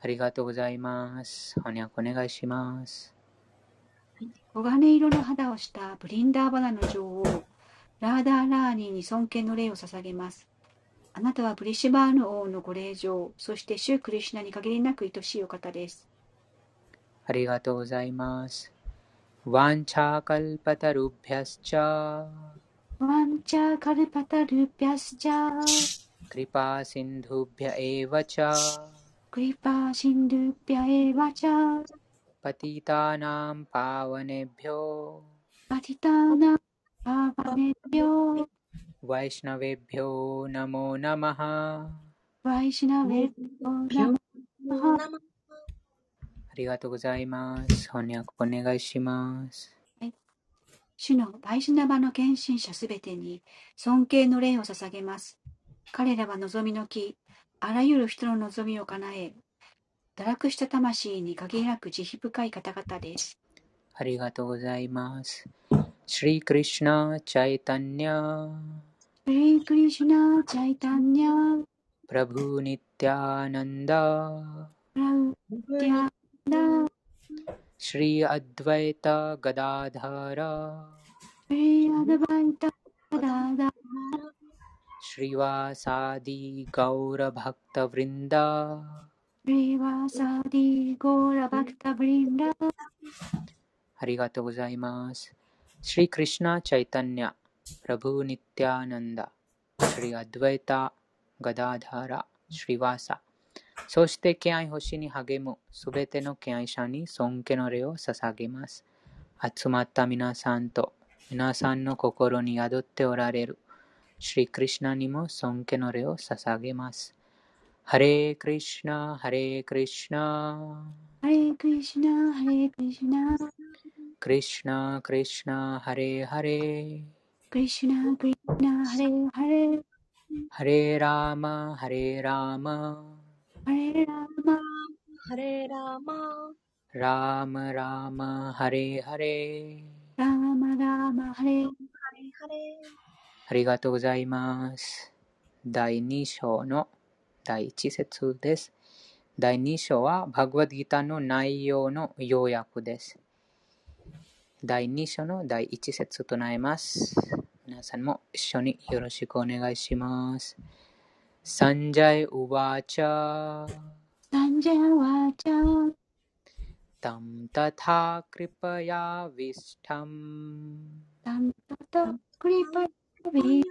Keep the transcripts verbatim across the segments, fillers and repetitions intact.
ありがとうございます。翻訳お願いします。 黄金色の肌をしたブリンダーバナの女王、ラーダーラーニーに尊敬の礼を捧げます。あなたはブリシバーヌ王のご令嬢、そしてシュークリシュナに限りなく愛しいお方です。 ありがとうございます。ワンチャカルパタルビャスチャワンチャカルパタルピャスチャクリパシンドゥビャエヴァチャクリパーシンドゥピャエワチャパティタナンパワネビョパティターナパワネビョワイシナベビョナモナマハ。 ワイシナベビョナマハ。 ありがとうございます。翻訳お願いします。 はい、主のバイシュナバの献身者すべてに尊敬の礼を捧げます。彼らは望みの木、あらゆる人の望みを叶え、堕落した魂に限りなく慈悲深い方々です。 ありがとうございます。シリクリシュナ・チャイタニャシリクリシュナ・チャイタニャプラブニティアナンダプラウティアナシリアドヴァイタ・ガダダラシリアドバイタガダダシリワサディ・ガウラ・バクタ・ヴリンダシリワサディ・ゴーラ・バクタ・ブリンダ。 ありがとうございます。シリクリシュナ・チャイタニャプラブニティアナンダシリアドヴァイタ・ガダダラシリワサ、そして敬愛星に励むすべての敬愛者に尊敬の礼を捧げます。集まった皆さんと皆さんの心に宿っておられるシリクリシュナにも尊敬の礼を捧げます。ハレークリシュナ、ハレークリシュナ、 ハレクリシュナ、ハレクリシュナ、 クリシュナ、クリシュナ、ハレーハレー、 クリシュナ、クリシュナ、ハレハレ、 ハレーラーマ、ハレーラーマ、 ハレラマ、 ハレラマ、 ラーマラーマ、ハレーハレー。 ラマラマ、ハレ。 ハレハレ。 ありがとうございます。だいに章のだいいち節です。だいに章はバグワッドギターの内容の要約です。だいに章のだいいち節となります。皆さんも一緒によろしくお願いします。サンジャイウワーチャサンジャワチャタムタタクリパヤヴィスタムタンタタクリパビ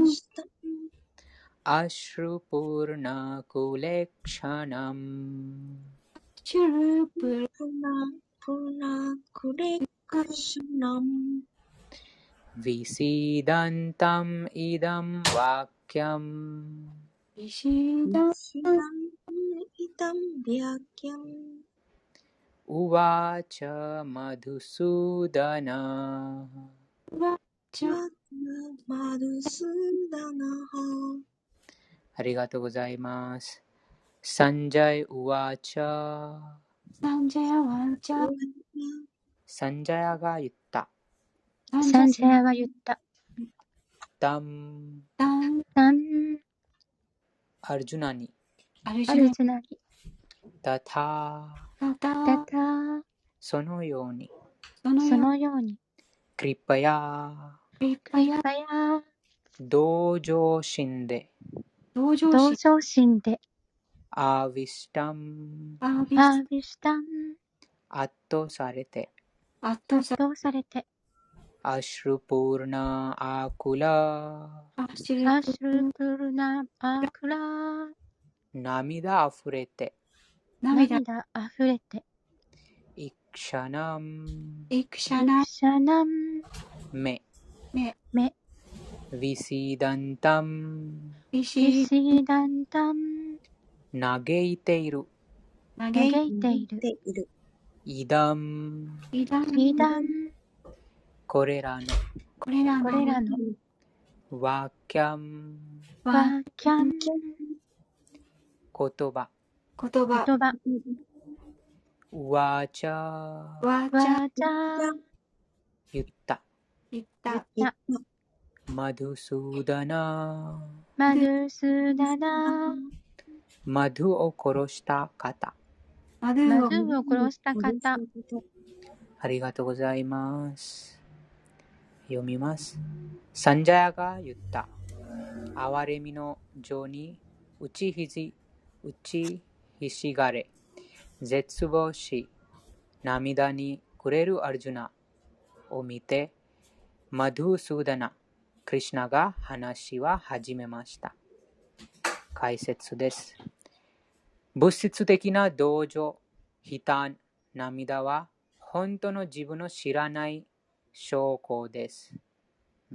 アシュルプーナクレクシャナムシュルプルプナプナクレクシュナムヴィシダンタムイダムワキャムビシダシダンイダムビャキャムウワチャマドゥスーダナワチャ。 マドスダナハ。 ありがとうございます。サンジャイウワチャサンジャヤワチャサンジャヤが言った。 サンジャヤが言った。 ダムタンタンアルジュナにアルジアルュジュナにタタナタタタそのようにそのそよのようにクリパヤクリパヤパヤ同情心で同情心同情心でアーヴィスタムアービアスービシタン圧倒されて圧倒さどうされてアシュルプールナアクラアシルアシュルプルナアクラ涙あふれて涙涙あふれてイクシャナムイクシャナシャナムメメメヴィシダンタムビビシシダンタム嘆いている嘆嘆いいているでいる。 イダムイダイダンこれらのこれらのこれらのワキャムワワキャン言葉言葉言葉ワチャワチャワジャ言った言ったやマドゥスーダナマドゥスダナマドゥを殺した方マドゥマーをズーを殺した方。 ありがとうございます。読みます。サンジャヤが言った。哀れみの情に打ちひじ、打ちひしがれ、絶望し、涙に暮れるアルジュナを見て、マドゥスーダナ、クリシュナが話は始めました。解説です。物質的な同情、悲嘆、涙は本当の自分の知らない証拠です。うん、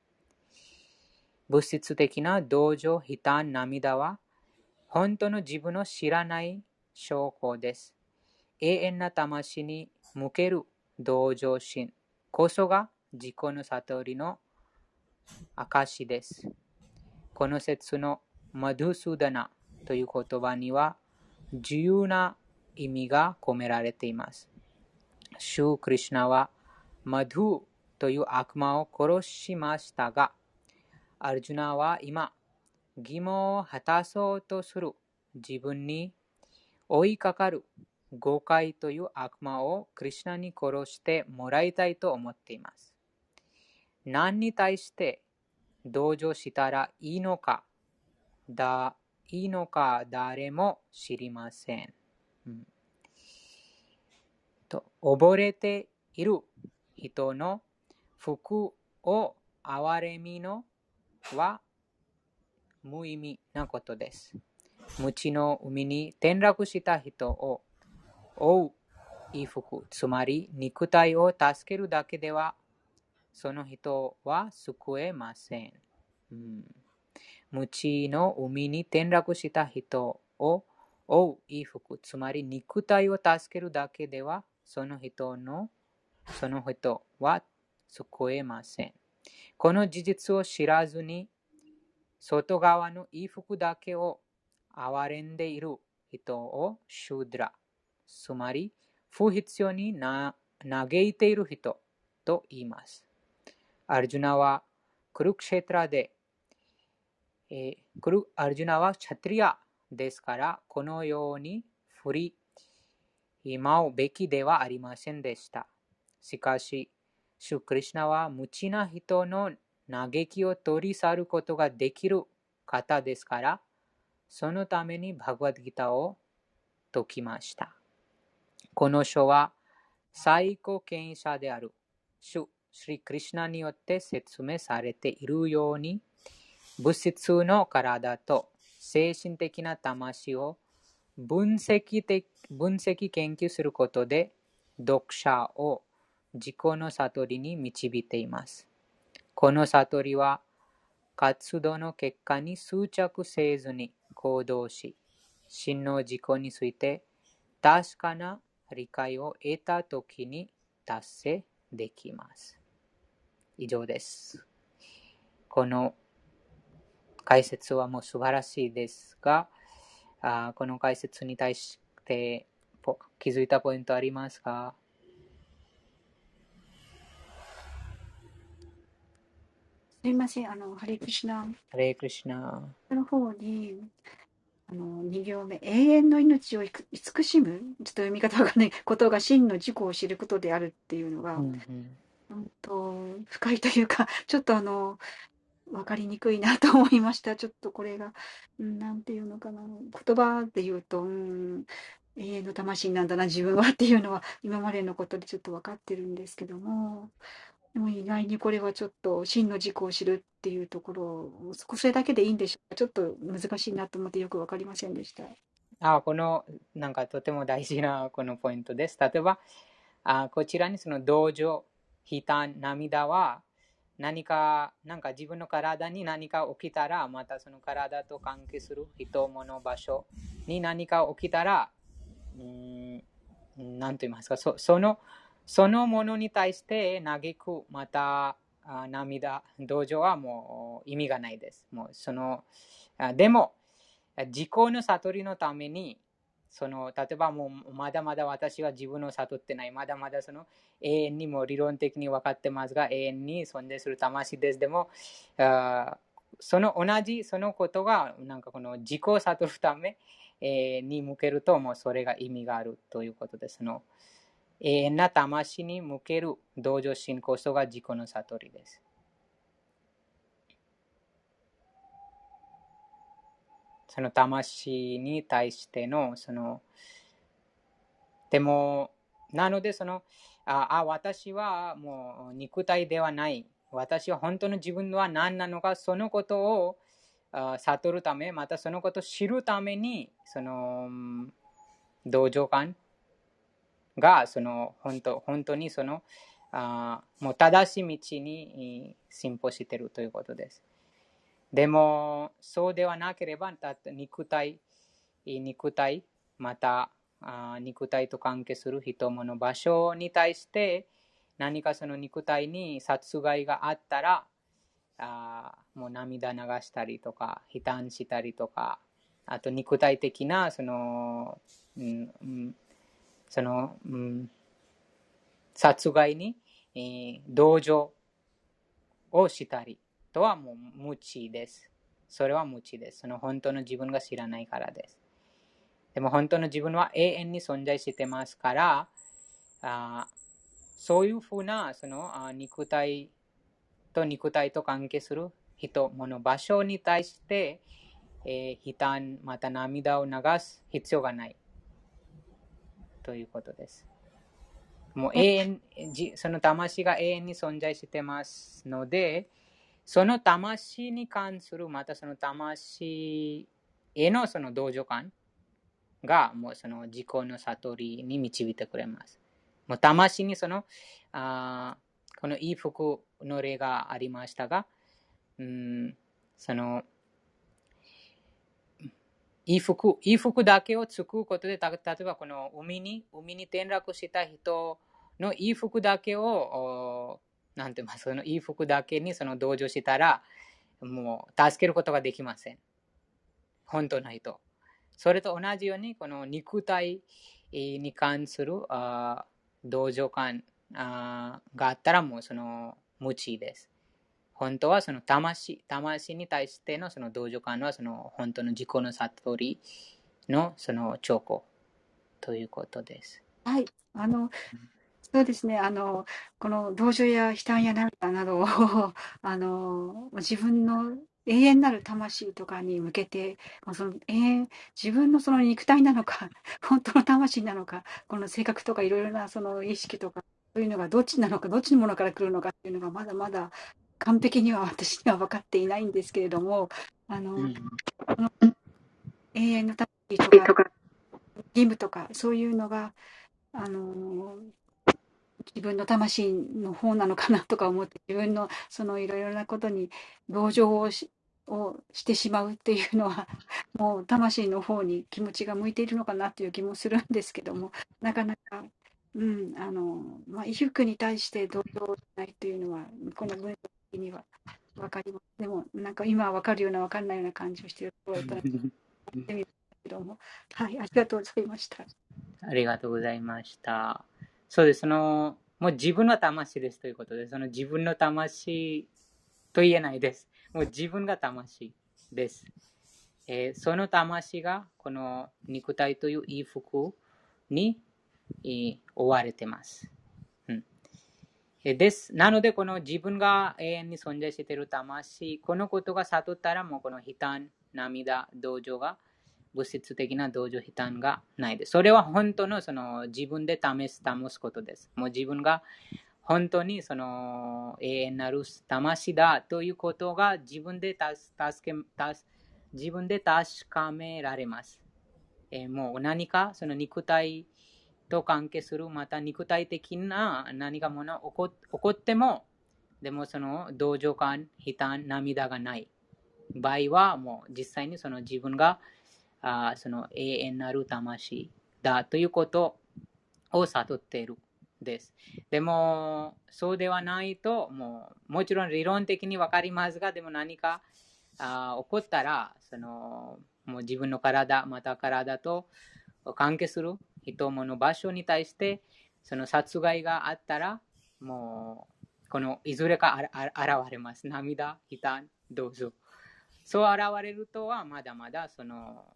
物質的な同情、悲嘆、涙は本当の自分の知らない証拠です。永遠な魂に向ける同情心こそが自己の悟りの証です。この説のマドゥスーダナという言葉には重要な意味が込められています。シュー・クリシュナはマドゥという悪魔を殺しましたが、アルジュナは今、義務を果たそうとする自分に追いかかる誤解という悪魔をクリシュナに殺してもらいたいと思っています。何に対して同情したらいいのか、だいいのか誰も知りません。うん、と溺れている人の服を憐れみのは無意味なことです。無知の海に転落した人を覆う衣服、つまり肉体を助けるだけではその人は救えません。うん、無知の海に転落した人を覆う衣服、つまり肉体を助けるだけではその人のその人は救えません。この事実を知らずに外側の衣服だけを憐れんでいる人をシュードラ、つまり不必要に嘆いている人と言います。アルジュナはクルクシェトラで、えー、クルアルジュナはチャトリアですから、このように振り舞うべきではありませんでした。しかし、シュクリシュナは無知な人の嘆きを取り去ることができる方ですから、そのためにバグワッドギターを説きました。この書は最高権威者であるシュ・シリ・クリシュナによって説明されているように、物質の体と精神的な魂を分析的、分析研究することで読者を自己の悟りに導いています。この悟りは活動の結果に執着せずに行動し、真の自己について確かな理解を得たときに達成できます。以上です。この解説はもう素晴らしいですが、あこの解説に対して気づいたポイントありますか？ すみません、あの、ハレクリシュナ。 ハレクリシュナ。 の方に、あの、に行目、永遠の命を慈しむ、ちょっと読み方わかんないことが真の自己を知ることであるっていうのが、 うんうん、 本当深いというか、ちょっとあの、わかりにくいなと思いました。ちょっとこれが、うん、なんていうのかな、言葉で言うと、うん、永遠の魂なんだな、自分はっていうのは、今までのことでちょっと分かってるんですけども、でも意外にこれはちょっと真の自己を知るっていうところを、それだけでいいんでしょうか。ちょっと難しいなと思ってよく分かりませんでした。 あこのなんかとても大事なこのポイントです。例えば、あこちらにその同情、悲嘆、涙は何か、なんか自分の体に何か起きたら、またその体と関係する人、物、場所に何か起きたら、うーん、なんと言いますか、そ, その、そのものに対して嘆く、また涙、同情はもう意味がないです。もうそのでも、自己の悟りのために、その例えばもうまだまだ私は自分を悟ってない、まだまだその永遠にも理論的に分かってますが、永遠に存在する魂です。でも、あその同じそのことがなんかこの自己を悟るため、 えーに向けると、もうそれが意味があるということです。その永遠な魂に向ける同情心こそが自己の悟りです。その魂に対しての、その、でも、なので、その、あ、あ私はもう肉体ではない。私は本当の自分は何なのか、そのことをあ悟るため、またそのことを知るために、その、同情感が、その、本当、本当にその、あもう正しい道に進歩しているということです。でも、そうではなければ、肉体、肉体、また、あ肉体と関係する人物場所に対して、何かその肉体に殺害があったら、あもう涙流したりとか、悲嘆したりとか、あと肉体的な、その、うんうん、その、うん、殺害に、えー、同情をしたりとはもう無知です。それは無知です。その本当の自分が知らないからです。でも本当の自分は永遠に存在してますから、あそういうふうなそのあ肉体と肉体と関係する人、物、場所に対して、えー、悲嘆、また涙を流す必要がないということです。もう永遠、その魂が永遠に存在してますので、その魂に関する、またその魂へのその同情感が、もうその自己の悟りに導いてくれます。もう魂にその、あこのいい服の例がありましたが、うん、その、いい服、いい服だけを作ることで、例えばこの海に、海に転落した人のいい服だけを、なんて言います、そのいい服だけにその同情したら、もう助けることができません。本当の人。それと同じように、この肉体に関する同情感があったら、もうその無知です。本当はその魂、魂に対してのその同情感は、その本当の自己の悟りのその兆候ということです。 はい。あの、そうですね。あの、この同情や悲嘆や涙などを、あの、自分の永遠なる魂とかに向けて、その永遠、自分のその肉体なのか、本当の魂なのか、この性格とかいろいろなその意識とか、そういうのがどっちなのか、どっちのものから来るのかっていうのがまだまだ完璧には私には分かっていないんですけれども、あの、 うん、 この永遠の魂とか、義務とか、そういうのが、あの、自分の魂の方なのかなとか思って、自分のそのいろいろなことに同情をしをしてしまうっていうのは、もう魂の方に気持ちが向いているのかなっていう気もするんですけども、なかなか、うん、あの、まあ、衣服に対して同情しないっていうのは、この文章的には分かります。でも、なんか今は分かるような分からないような感じをしているところだったら、やってみるけども、はい、ありがとうございました。 ありがとうございました。そうです。その、もう自分の魂ですということで、その自分の魂と言えないです。もう自分が魂です。えー、その魂がこの肉体という衣服に、えー、追われています。うん、です。なので、この自分が永遠に存在している魂、このことが悟ったら、もうこの悲嘆、涙、同情が、物質的な同情、悲嘆がないです。それは本当のその自分で試す、保つことです。もう自分が本当にその永遠なる魂だということが自分で助け、自分で確かめられます。えー、もう何かその肉体と関係する、また肉体的な何かもの起こ、起こっても、でもその同情感、悲嘆、涙がない場合は、もう実際にその自分があその永遠なる魂だということを悟っているです。でも、そうではないと、もう、もちろん理論的にわかりますが、でも何かあ起こったら、その、もう自分の体、また体と関係する人物場所に対して、その殺害があったら、もう、このいずれか現れます。涙、悲嘆、どうぞ。そう現れるとは、まだまだ、その、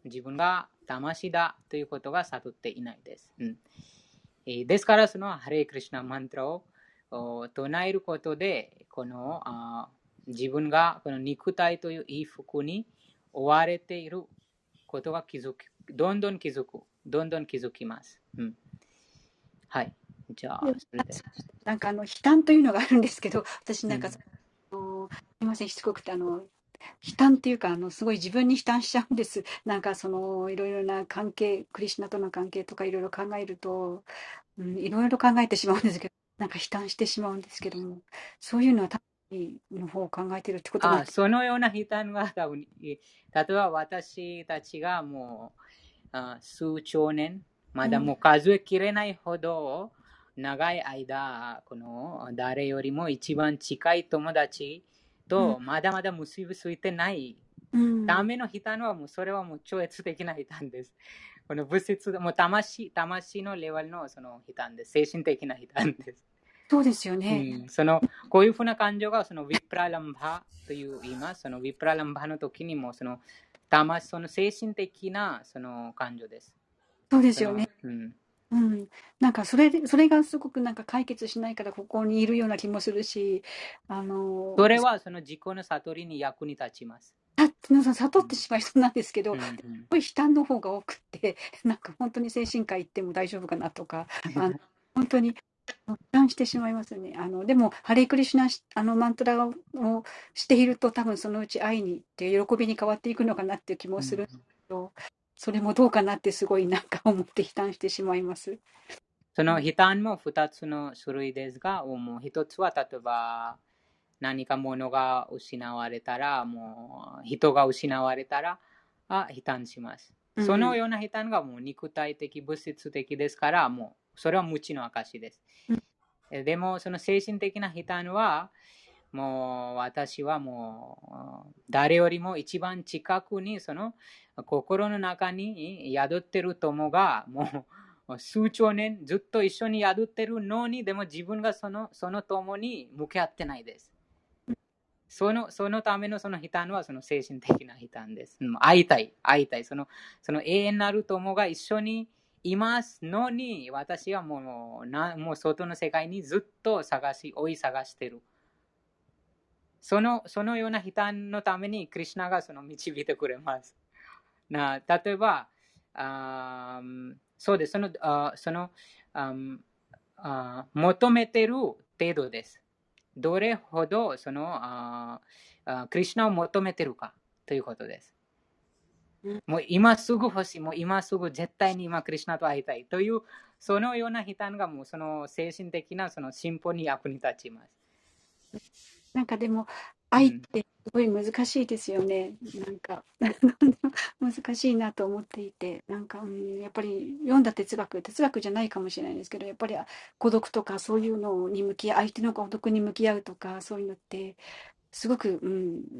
自分が魂だということが悟っていないです。うんえー、ですから、そのハレークリシナマントラを唱えることで、このあ自分がこの肉体という衣服に追われていることが気づく、どんどん気づく、どんどん気づきます。うん、はい。じゃあ、それで。 なんかあの、悲嘆というのがあるんですけど、私なんか、 うん、 あのすみません、しつこくて、あの、悲嘆っていうか、あの、すごい自分に悲嘆しちゃうんです。なんかその、いろいろな関係、クリシュナとの関係とかいろいろ考えると、うん、いろいろ考えてしまうんですけど、なんか悲嘆してしまうんですけども、そういうのは魂の方を考えてるってことなんあです。 そのような悲嘆が多分、例えば私たちがもうあ数兆年、まだもう数えきれないほど長い間、この誰よりも一番近い友達とまだまだ結びついてないための悲嘆はもうそれはもう超越的な悲嘆です。この物質、もう魂、魂のレベルのその悲嘆です。精神的な悲嘆です。 そうですよね。 うん、そのこういうふうな感情がそのヴィプラランバという言います。そのヴィプラランバの時にもその魂、その精神的なその感情です。 そうですよね。 うん、 うん、なんかそれで、それがすごくなんか解決しないからここにいるような気もするし、あの、 それはその自己の悟りに役に立ちます。 た皆さん悟ってしまいそうなんですけど、 うんうん、 すごい悲嘆の方が多くて、なんか本当に精神科行っても大丈夫かなとか、あの本当に悲嘆してしまいますね。あのでも、ハレークリシュナあのマントラをしていると、多分そのうち愛にって喜びに変わっていくのかなっていう気もするんですけど、それもどうかなってすごいなんか思って悲嘆してしまいます。 その悲嘆もふたつの種類ですが、もう一つは例えば何か物が失われたら、もう人が失われたら、あ悲嘆します。そのような悲嘆がもう肉体的、物質的ですから、もうそれは無知の証です。でも、その精神的な悲嘆は、もう私はもう誰よりも一番近くにその心の中に宿ってる友がもう数兆年ずっと一緒に宿ってるのに、でも自分がそのその友に向き合ってないです。そのそのためのその悲嘆はその精神的な悲嘆です。会いたい、会いたい。そのその永遠なる友が一緒にいますのに、私はもうなもう外の世界にずっと探し、追い探してる。そのそのような悲嘆のために、クリシュナがその導いてくれます。な例えば、あそうです。その、あそのああ求めてる程度です。どれほどそのああクリシュナを求めてるかということです。もう今すぐ欲しい、もう今すぐ絶対に今クリシュナと会いたいという、そのような悲嘆がもうその精神的なその進歩に役に立ちます。 なんかでも、愛ってすごい難しいですよね。なんか難しいなと思っていて、なんか、うん、やっぱり読んだ哲学、哲学じゃないかもしれないですけど、やっぱり孤独とかそういうのに向き合う、相手の孤独に向き合うとか、そういうのって、すごく、うん、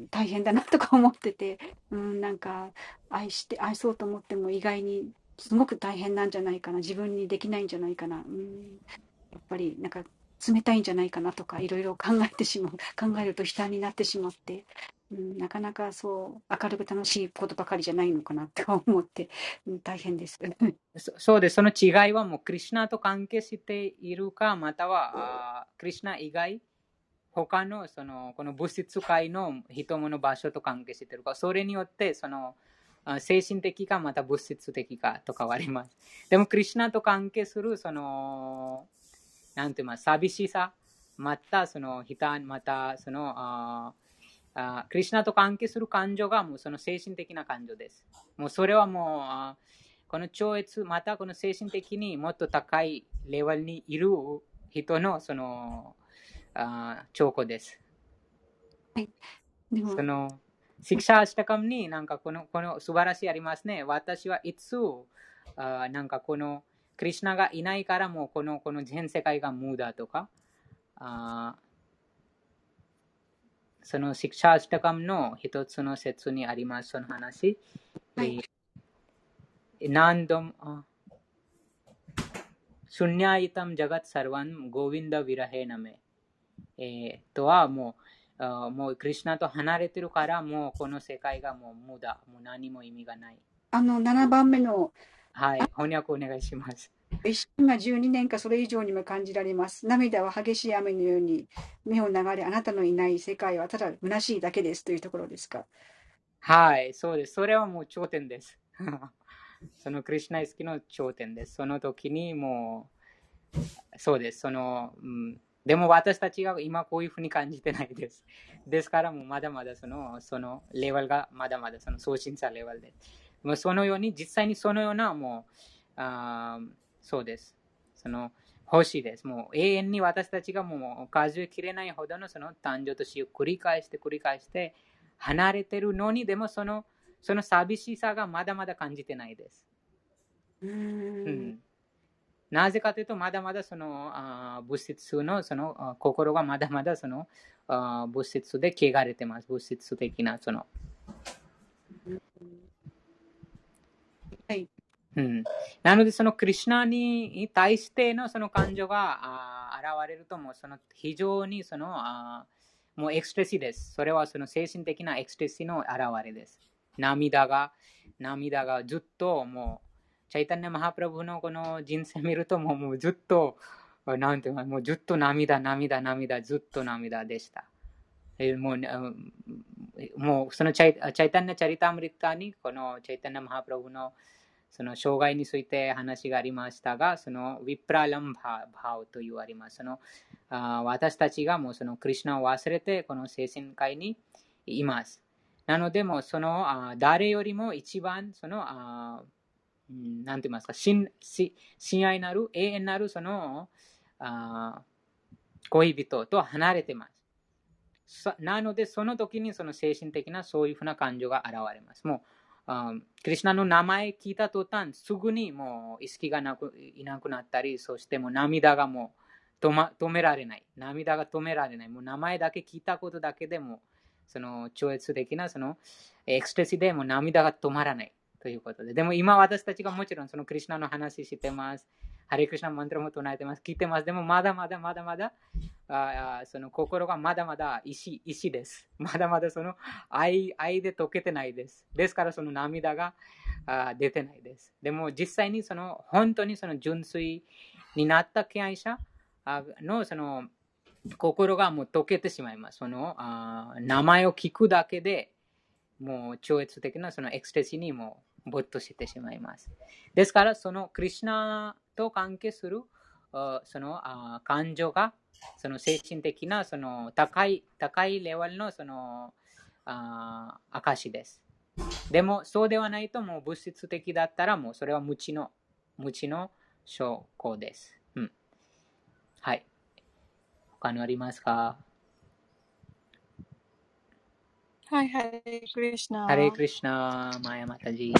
大変だなとか思ってて、うん、なんか愛して、愛そうと思っても意外にすごく大変なんじゃないかな、自分にできないんじゃないかな、うん、やっぱりなんか冷たいんじゃないかなとかいろいろ考えてしまう、考えると悲嘆になってしまって、うん、なかなかそう明るく楽しいことばかりじゃないのかなって思って、うん、大変です。 そそうです。その違いはもうクリシュナと関係しているか、またはあクリシュナ以外、他のそのこの物質界の人物場所と関係しているか、それによってその精神的かまた物質的かと変わります。でもクリシュナと関係するそのなんて言います、寂しさ、またその悲嘆、またそのああクリシュナと関係する感情がもうその精神的な感情です。もうそれはもうあこの超越、またこの精神的にもっと高いレベルにいる人のそのあ兆候です。 はい、でもそのシクシャアシタカムになんかこのこの素晴らしいありますね。私はいつあなんかこのクリシュナがいないからもうこのこの全世界が無だとか、あそのシクシャアシタカムの一つの説にありますその話。はい、何度もシュンニャイタムジャガッサルワンゴヴィンダヴィラヘナメ、えー、とはもうもうクリシュナと離れてるからもうこの世界がもう無だ、もう何も意味がないあのななばんめのはい、翻訳お願いします。 一瞬がじゅうにねんかそれ以上にも感じられます。涙は激しい雨のように目を流れ、あなたのいない世界はただ虚しいだけですというところですか。 はい、そうです。それはもう頂点です。そのクリシュナ意識の頂点です。その時にもう、そうです。その、うん、でも私たちが今こういうふうに感じてないです。ですからもうまだまだその、そのレベルがまだまだその送信者レベルで。もうそのように、実際にそのようなもう、あそうです。その、欲しいです。もう永遠に私たちがもう数えきれないほどのその誕生と死を繰り返して繰り返して離れてるのに、でもその、その寂しさがまだまだ感じてないです。 うーんうん、なぜかというと、まだまだそのあ物質のその心がまだまだそのあ物質で汚れてます。物質的なその。 はい。 うん、なので、そのクリシュナに対してのその感情があ現れると、もうその非常にそのあもうエクスプレシーです。それはその精神的なエクスプレシーの現れです。涙が、涙がずっともう、チャイタンヤマハプラブのこの人生見ると、もうもうずっと、なんていうか、もうずっと涙、涙、涙、ずっと涙でした。もう、もうそのチャイチャイタンヤチャリタムリタに、このチャイタンヤマハプラブのその障害について話がありましたが、そのヴィプラランバーと言われます。そのあ私たちがもうそのクリシュナを忘れてこの精神界にいます。なので、もそのあ誰よりも一番そのあなんて言いますか、親親愛なる永遠なるそのあ恋人と離れてます。なので、その時にその精神的なそういうふうな感情が現れます。もうクリシュナの名前聞いた途端、すぐにもう意識がなくいなくなったり、そしてもう涙がもう止、ま、止められない。涙が止められない。もう名前だけ聞いたことだけでも、その超越的なそのエクスプレスでも涙が止まらないということで。でも今私たちがもちろんそのクリシュナの話してます。ハレクリシュナマントラも唱えてます。聞いてます。でもまだまだまだまだ、あその心がまだまだ石、石です。まだまだその 愛, 愛で溶けてないです。ですからその涙があ出てないです。でも実際にその本当にその純粋になった敬愛者のその心がもう溶けてしまいます。そのあ名前を聞くだけでもう超越的なそのエクステシーにも没頭してしまいます。ですからそのクリシュナと関係するそのあ感情がその精神的なその高い高いレベルのそのあ証です。でもそうではないと、もう物質的だったらもうそれは無知の無知の証拠です。うん、はい。他にありますか？ はい、ハレクリシナ。 ハレクリシナ、マヤマタジ。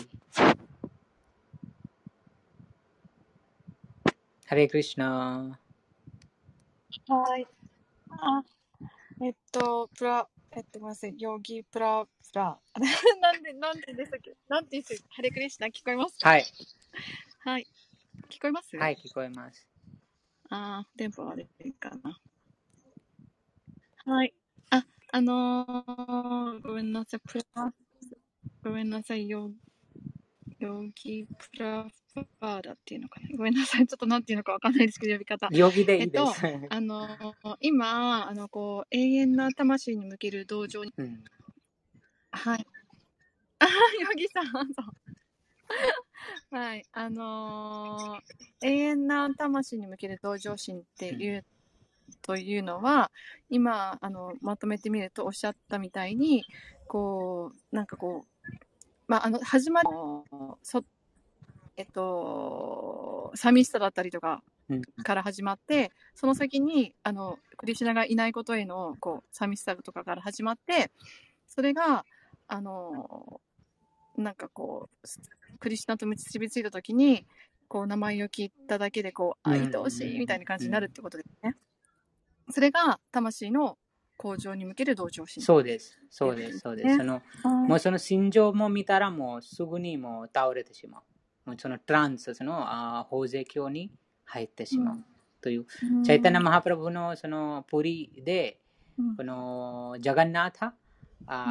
ハレクリシナ。 はい。あ、えっと、プラ、えっと、ごめんなさい、ヨギプラプラ。なんで、なんででしたっけ？なんて言って、ハレクリシナ聞こえますか？ はい。 はい。聞こえます？ はい、聞こえます。 あー、電波悪いかな。はい。あ、あのー、ごめんなさい、プラ、ごめんなさい、ヨヨギプラパーダっていうのかな。ごめんなさい、ちょっとなんていうのかわかんないですけど、呼び方。 ヨギでいいです。 えっと、あのー、今、あの、こう、永遠な魂に向ける道場に、 うん、 はい。あ、ヨギさん、そう。はい。あのー、永遠な魂に向ける同情心っていう、うん、というのは、今、あの、まとめてみるとおっしゃったみたいに、こう、なんかこう、まあ、あの、始まり、そ、えっと、寂しさだったりとかから始まって、うん、その先に、あの、クリシュナがいないことへの、こう、寂しさとかから始まって、それが、あの、なんかこう、クリシュナと結びついたときに、こう、名前を聞いただけで、こう、愛おしいみたいな感じになるってことですね。それが、魂の向上に向ける同情心。 そうです。そうです。そうです。その、もうその心情も見たら、もうすぐにもう倒れてしまう。もうそのトランス、その、あ法税教に入ってしまう。うん、という、うん、チャイタナ・マハプラブのその、プリで、うん、この、ジャガンナータ、あ、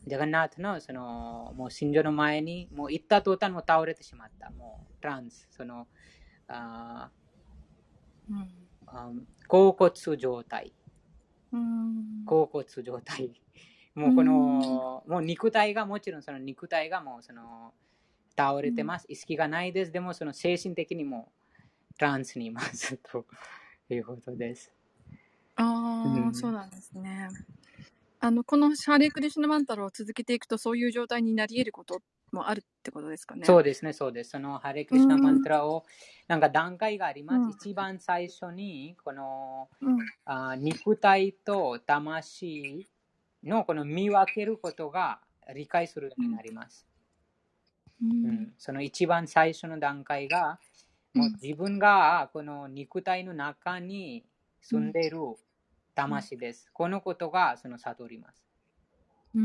ジャガンナートのそのもう神女の前にもう行った途端も倒れてしまった。もうトランス、そのあ、うん、あ甲骨状態。 うん。 甲骨状態。もうこの、もう肉体がもちろんその肉体がもうその倒れてます。意識がないです。でもその精神的にもトランスにいますということです。 ああ、うん、そうなんですね。あのこのハレクリシュナマンタラを続けていくとそういう状態になり得ることもあるってことですかね。 そうですね、そうです。そのハレクリシュナマンタラをなんか段階があります。うん、一番最初にこの、うん、あ肉体と魂のこの見分けることが理解するようになります。うんうん、その一番最初の段階が、もう自分がこの肉体の中に住んでいる魂です。このことがその悟ります。 うん、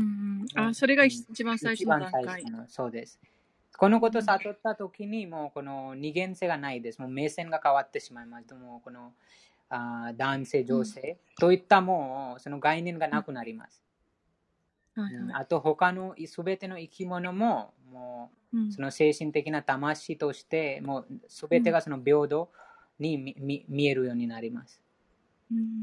あ、それが一番最初の段階。一番最初の、 そうです。このことを悟ったときに、もうこの二元性がないです。もう目線が変わってしまいます。もうこのあ男性、女性といったもうその概念がなくなります。はいはい、あと他のすべての生き物も、もうその精神的な魂として、もうすべてがその平等に 見, 見, 見えるようになります。うんうん、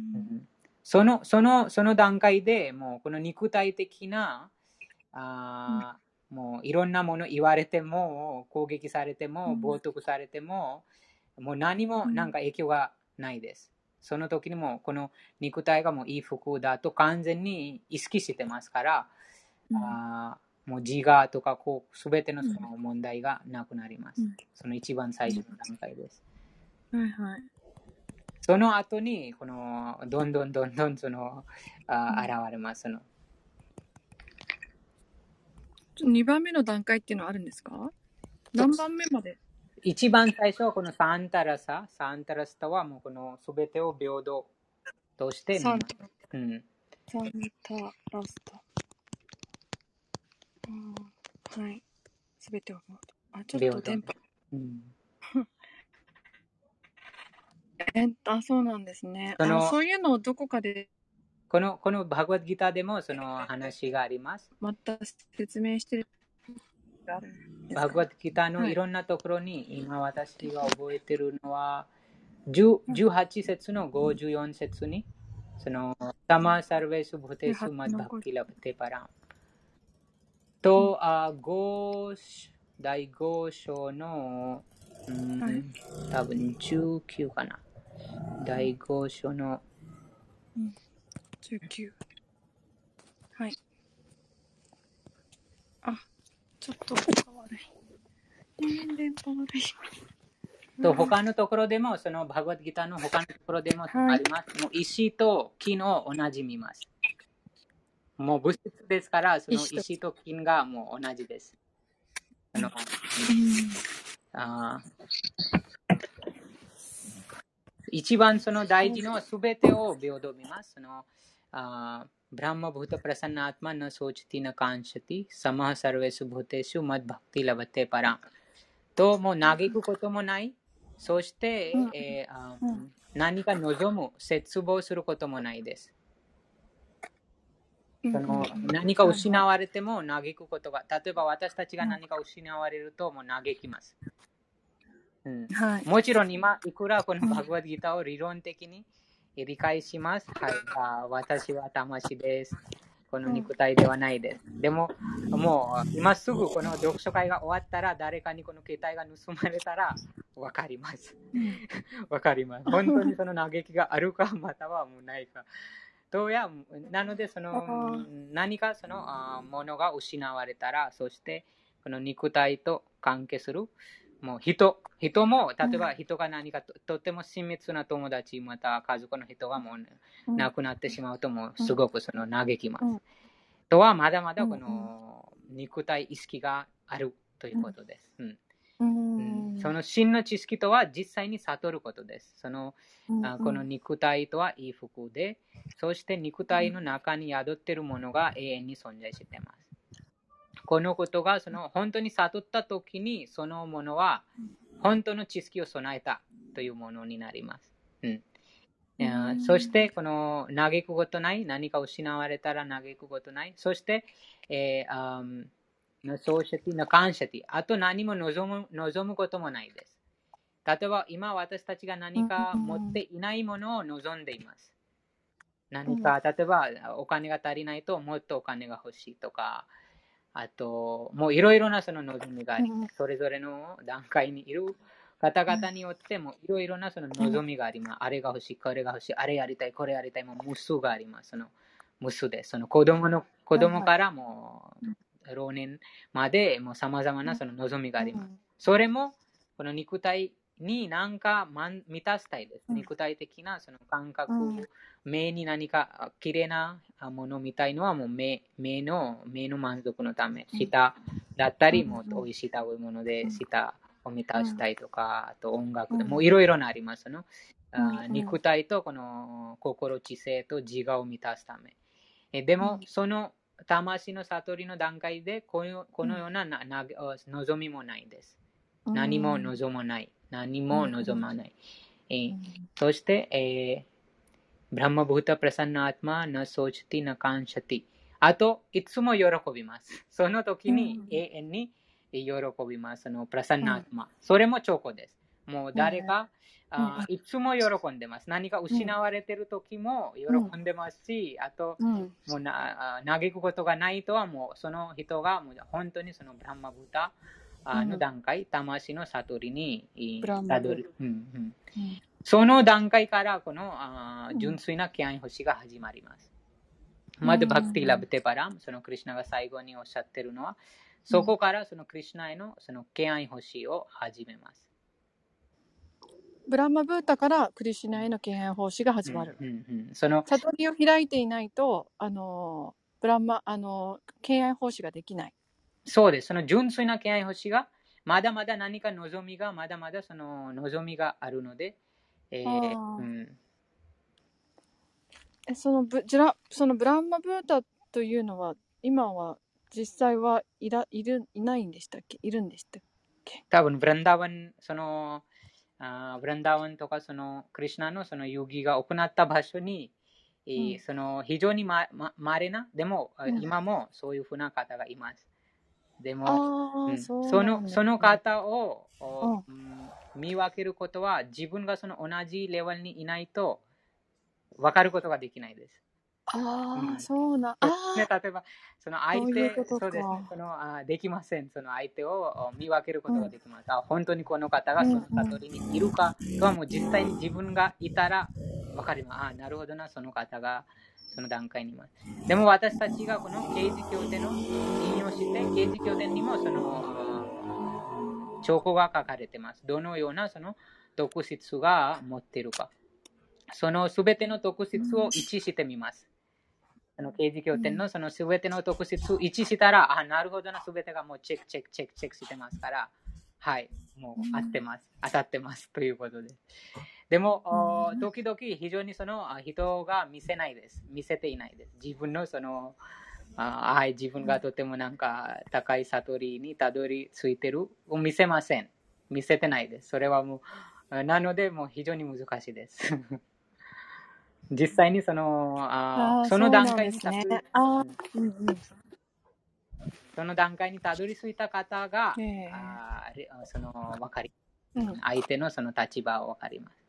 そのそのその段階でもうこの肉体的なあ、うん、もういろんなもの言われても攻撃されても冒涜されても、うん、もう何もなんか影響がないです。その時にもこの肉体がもういい服だと完全に意識してますから、うん、あもう自我とかこう全てのその問題がなくなります。うん、その一番最初の段階です。 はいはい。 その後にこのどんどんどんどんそのあ現れます。そのにばんめの段階っていうのはあるんですか？何番目まで？ 一番最初はこのサンタラサ、サンタラスタはもうこのすべてを平等として見ます。うん、 サンタラスタ。うん、はい。すべてを平等。あ、ちょっと電波。うん、えあ、そうなんですね。そのあそういうのをどこかでこのこのバグワッドギターでもその話があります。 また説明してる。 バグワッドギターのいろんなところに、はい、今私が覚えてるのはじゅうはち節のごじゅうよん節にそのサマサルベスブテスマッバクティラブテパランと、あごだいご章の、うん、はい、多分じゅうきゅうかな。だいご章の、 うん、じゅうきゅう。はい。あ、ちょっと電波悪い。電波悪い。 と他のところでも、そのバグワッドギターの他のところでもあります。はい、もう石と金を同じ見ます。もう物質ですから、その石と金がもう同じです。あの、あ一番その大事のすべてを平等見ます。そのあブラマブータプラサンナアトマナソーチティナカンシャティサマハサルベスブテシュマッバクティラバテパラともう嘆くこともない。そして、うんえーあうん、何か望む、絶望することもないです。その何か失われても嘆くことが、例えば私たちが何か失われるともう嘆きます。うんはい、もちろん今、いくらこのバグワッドギターを理論的に理解します。はい、あ私は魂です。この肉体ではないです。でも、もう今すぐこの読書会が終わったら、誰かにこの携帯が盗まれたら分かります。分かります。本当にその嘆きがあるか、またはもうないか。どうや、なので、その何かそのものが失われたら、そしてこの肉体と関係する。もう人、人も、例えば人が何か と, とっても親密な友達、また家族の人がもう亡くなってしまうと、もうすごくその嘆きます。うん、とは、まだまだこの肉体意識があるということです。うんうんうん、その真の知識とは実際に悟ることです。そのあこの肉体とはいい服で、そして肉体の中に宿っているものが永遠に存在しています。このことがその本当に悟ったときに、そのものは本当の知識を備えたというものになります。うんいやそして、この嘆くことない、何か失われたら嘆くことない。そして、えー、あのそうしての感謝で、あと何も望む望むこともないです。例えば、今私たちが何か持っていないものを望んでいます。何か、例えば、お金が足りないと、もっとお金が欲しいとか、あと、もういろいろなその望みがあります。それぞれの段階にいる方々によってもいろいろなその望みがあります。あれが欲しい、これが欲しい、あれやりたい、これやりたい、もう無数があります。その無数で、その子供の子供からもう老年までもう様々なその望みがあります。それもこの肉体に何か満たしたいです。肉体的なその感覚、目に何か綺麗なものを見たいのはもう 目, 目, の目の満足のため、舌だったり、もう美味しい食べ物で舌を満たしたいとか、あと音楽でもういろいろなありますの。あ肉体とこの心、知性と自我を満たすため。えでも、その魂の悟りの段階でこの、このようななな望みもないです。何も望まない。何も望まない。えー、そして、えー、ブラマブータプラサンナアートマナソチティナカンシャティ。あと、いつも喜びます。その時に永遠に喜びます。そのプラサンナアートマ。それもチョコです。もう誰か、あいつも喜んでます。何か失われている時も喜んでますし、あと、もうな嘆くことがないとはもうその人がもう本当にそのブラマブータの段階、魂の悟りにたどり、うんうん、その段階からこのあ純粋な敬愛星が始まります。まずバクティラブテパラム、そのクリシュナが最後におっしゃってるのは、そこからそのクリシュナへのその敬愛星を始めます。 ブランマブータからクリシュナへの敬愛奉仕が始まる。 うんうんうん、その悟りを開いていないと、あのブランマあの敬愛奉仕ができない。 そうです。その純粋な敬愛星がまだまだ何か望みがまだまだその望みがあるので、えーうん、 えそのブジュラそのブランマブータというのは今は実際はいらいるいないんでしたっけ？いるんでしたっけ？ 多分ブランダワンそのあブランダワンとかそのクリシュナのその遊戯が行った場所に、うん、その非常にままれなでも、うん、今もそういうふうな方がいます。でも、うん、そ, そのその方を、うん、見分けることは自分がその同じレベルにいないと分かることができないです。 ああ、うん、そうな。あね、例えばその相手そうそうですね、そのあできません。その相手を見分けることができます。うん、あ本当にこの方がその悟りにいるかとはもう実際に自分がいたら分かります。あなるほどな、その方がその段階にいます。でも私たちがこの啓示経典の引用して、啓示経典にもその兆候が書かれています。どのようなその特質が持っているか。そのすべての特質を一致してみます。その啓示経典のそのすべての特質を一致したら、あ、なるほどな、すべてがもうチェックチェックチェックチェックしてますから、はい、もう合ってます。当たってますということで。でも、時々非常にその人が見せないです。見せていないです。自分のその、あはい、自分がとてもなんか高い悟りにたどり着いてるを見せません。見せてないです。それはもう、なのでもう非常に難しいです。実際にその、あその段階にたどり、ねうんうん、その段階にたどり着いた方が、あその分かり、うん、相手のその立場を分かります。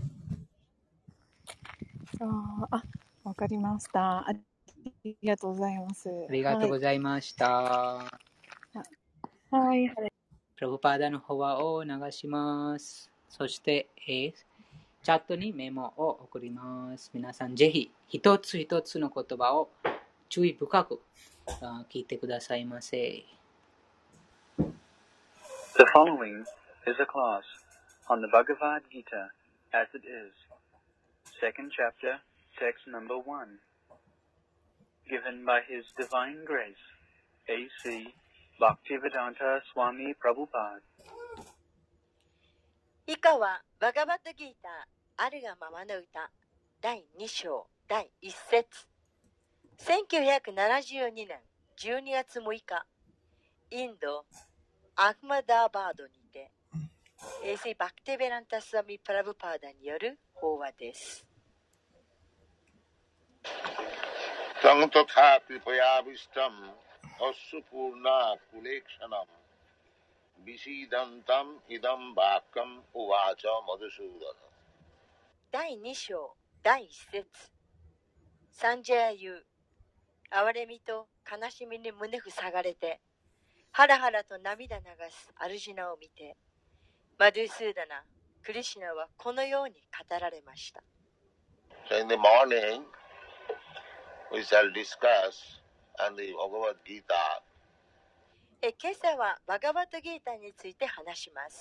あ、わかりました。ありがとうございます。 ありがとうございました。はい。はい、 プラブパーダの方を流します。そして、えー、チャットにメモを送ります。皆さん、ぜひ一つ一つの言葉を注意深く聞いてくださいませ。 The following is a class on the Bhagavad Gita as it is, second chapter, text number one, given by His Divine Grace, A C Bhaktivedanta Swami Prabhupada. 以下はバガバットギーターあるがままの歌だいに章だいいち節せんきゅうひゃくななじゅうにねんじゅうにがつむいかインドアフマダーバードにてエーシーバクティベランタスワミプラブパーダによる法話です。 Tangatha kripayavistam asupurna kulekshanam visidantam idam vakam uvacha madhusudana。 だいに章だいいち節。サンジェア言う。哀れみと悲しみに胸塞がれて、ハラハラと涙流すアルジナを見て、マドゥスーダナ、クリシュナはこのように語られました。 So in the morning, we shall discuss on the Bhagavad Gita. え今朝はバガバットギータについて話します。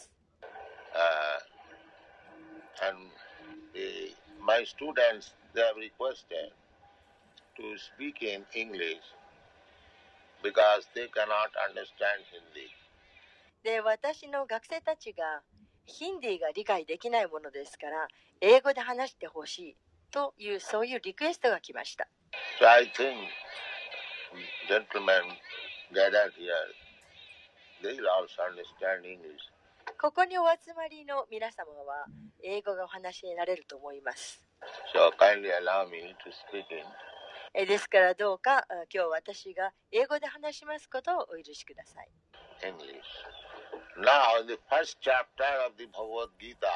Uh, and the, my students, they have requested to speak in English because they cannot understand Hindi. で、私の学生たちがヒンディーが理解できないものですから、英語で話してほしいという、そういうリクエストが来ました。 So I think gentlemen gathered here, they will also understand English. ここにお集まりの皆様は英語がお話しになれると思います。 So kindly allow me to speak in. えですからどうか今日私が英語で話しますことをお許しください。 English. Now, in the first chapter of the Bhagavad Gita,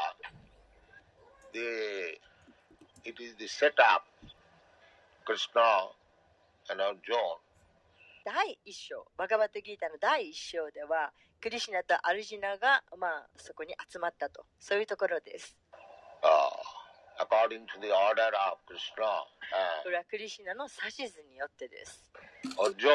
the, it is the setup, Krishna and Arjuna. 第一章、バガバットギータの第一章では、クリシュナとアルジュナが、まあ、そこに集まったと、そういうところです。 Uh, according to the order of Krishna, uh, これはクリシュナの指図によってです。 Arjuna,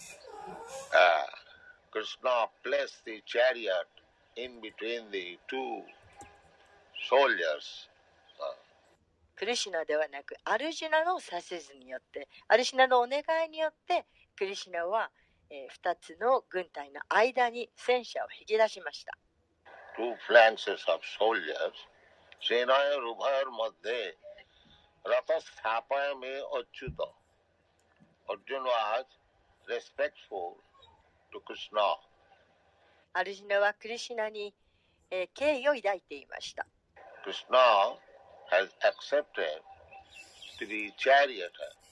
uh, Krishna placed the chariot in between the two soldiers. クリシュナではなく、アルジュナの指図によって、アルジュナのお願いによって、クリシュナは、えー、ふたつの軍隊の間に戦車を引き出しました。 Two flanks of soldiers, Senaya Rubhayar Madhye, Rathas Thapaya Me Achyuta. Arjuna was respectful to Krishna. アルジュナはクリシュナに、えー、敬意を抱いていました。 Krishna has accepted to be charioteer,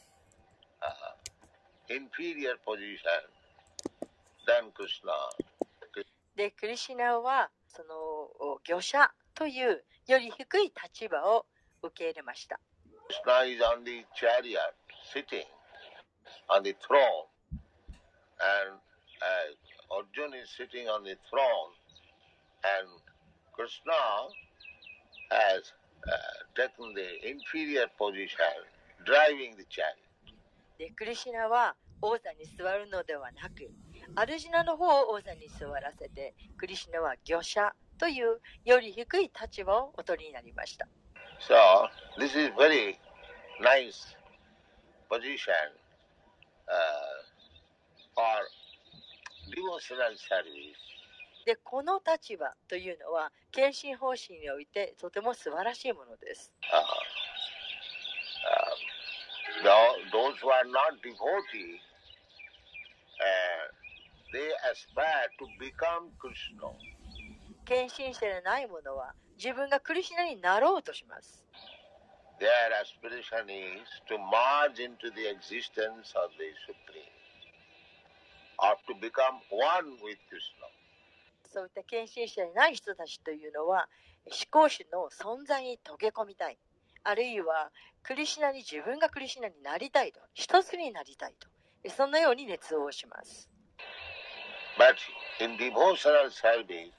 uh, inferior position than Krishna. で、クリシュナはその御者というより低い立場を受け入れました。 Krishna is on the chariot, sitting on the throne, and uh, Arjuna is sitting on the throne, and Krishna has uh, taken the inferior position, driving the chariot. で、クリシュナは王座に座るのではなく、アルジュナの方を王座に座らせて、クリシュナは御者というより低い立場をお取りになりました。 So, this is very nice position uh, for devotional service. で、この立場というのは、献身方針においてとても素晴らしいものです。 Uh, uh, those who are not devotees, uh, they aspire to become Krishna. 献身者でない者は自分がクリシュナになろうとします。 Their aspiration is to merge into the existence of the Supreme, or to become one with Krishna. そういった献身者でない人たちというのは、思考主の存在に溶け込みたい。あるいはクリシュナに自分がクリシュナになりたいと、一つになりたいと、そんなように熱望します。 But in devotional service,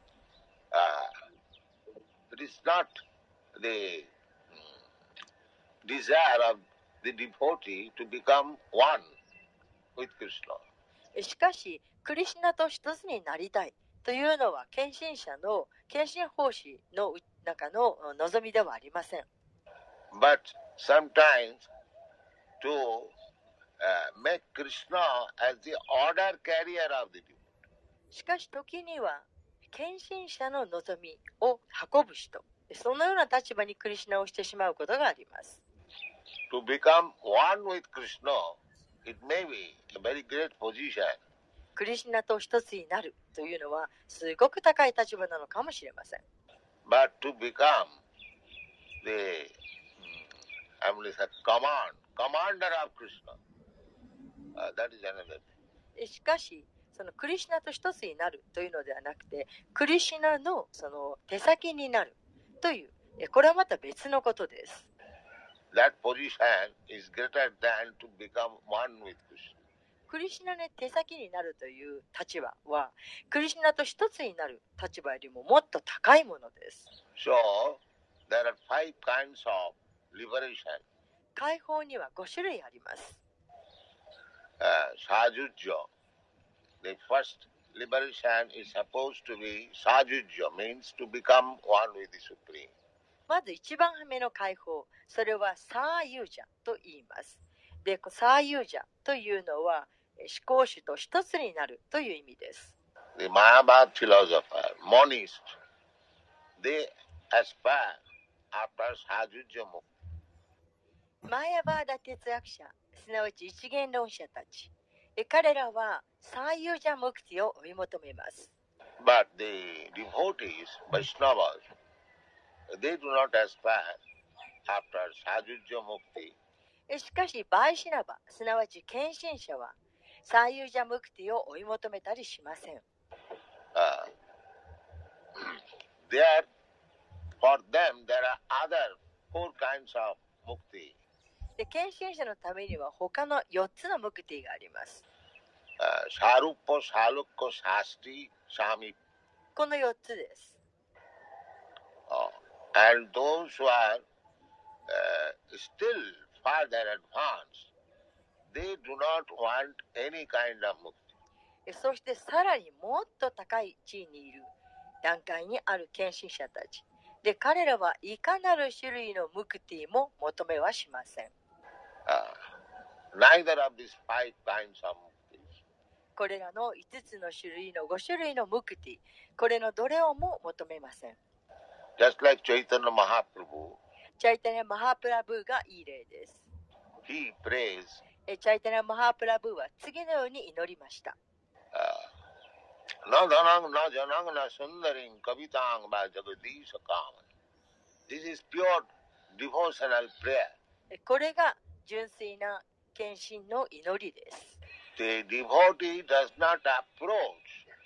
uh, it is not the desire of the devotee to become one with Krishna. しかし、クリシュナと一つになりたいというのは、献身者の献身奉仕の中の望みではありません。 But sometimes to uh, make Krishna as the order carrier of the devotee. しかし時には献身者の望みを運ぶ人、そのような立場にクリシュナをしてしまうことがあります。 To become one with Krishna, it may be a very great position. クリシュナと一つになるというのはすごく高い立場なのかもしれません。 But to become the I mean, command, commander of Krishna. Uh, that is another thing. しかし、そのクリシュナと一つになるというのではなくて、クリシュナのその手先になるという、これはまた別のことです。 That position is greater than to become one with Krishna. クリシュナの手先になるという立場は、クリシュナと一つになる立場よりももっと高いものです。 So, there are five kinds of liberation. 解放にはご種類あります。 Uh, Sajujya. The first liberation is supposed to be Sajujya, means to become one with the Supreme. まず一番目の解放、それはサーユージャと言います。で、サーユージャというのは思考主と一つになるという意味です。 The Mayavad philosopher, monist, they aspire after Sajujya Mukti. マーヤバーダ哲学者、すなわち一元論者たち、彼らはサーユージャムクティを追い求めます。 But the devotees, Vaishnavas, they do not aspire after Sajujya Mukti. しかし、バイシナバ、すなわち献身者は、サーユージャムクティを追い求めたりしません。 Uh, there, for them, there are other four kinds of mukti. で、献身者のためには他のよっつのムクティがあります。 Uh, Sarupa, Salukka, Sasti, Sami. このよっつです。 Uh, and those who are uh, still further advanced, they do not want any kind of mukti. そしてさらにもっと高い地位にいる段階にある献身者たち。で、彼らはいかなる種類のムクティも求めはしません。 Uh, neither of these five kinds of muktis. これらのいつつの種類のご種類のムクティ、これのどれをも求めません。 Just like Chaitanya Mahaprabhu, チャイタニャ・マハプラブーがいい例です。 he prays, チャイタニャ・マハプラブーは次のように祈りました。 Na dhanang na janang na sundaring kavitang ba jagadisha kaman. This is pure devotional prayer. これが純粋な献身の祈りです。 The devotee does not approach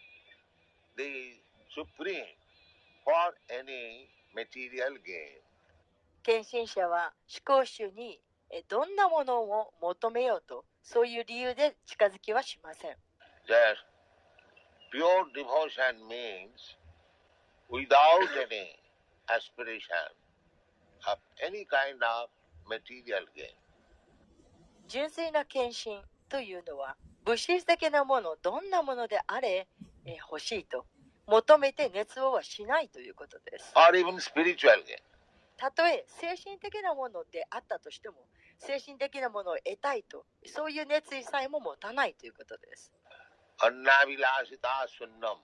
the Supreme for any material gain. 献身者は思考主にどんなものを求めようと、そういう理由で近づきはしません。 Just pure devotion means without any aspiration of any kind of material gain. 純粋な献身というのは物質的なもの、どんなものであれ、えー、欲しいと求めて熱望はしないということです。 Or even spiritual gain. たとえ精神的なものであったとしても、精神的なものを得たいと、そういう熱意さえも持たないということです。 Annavilasita sunnam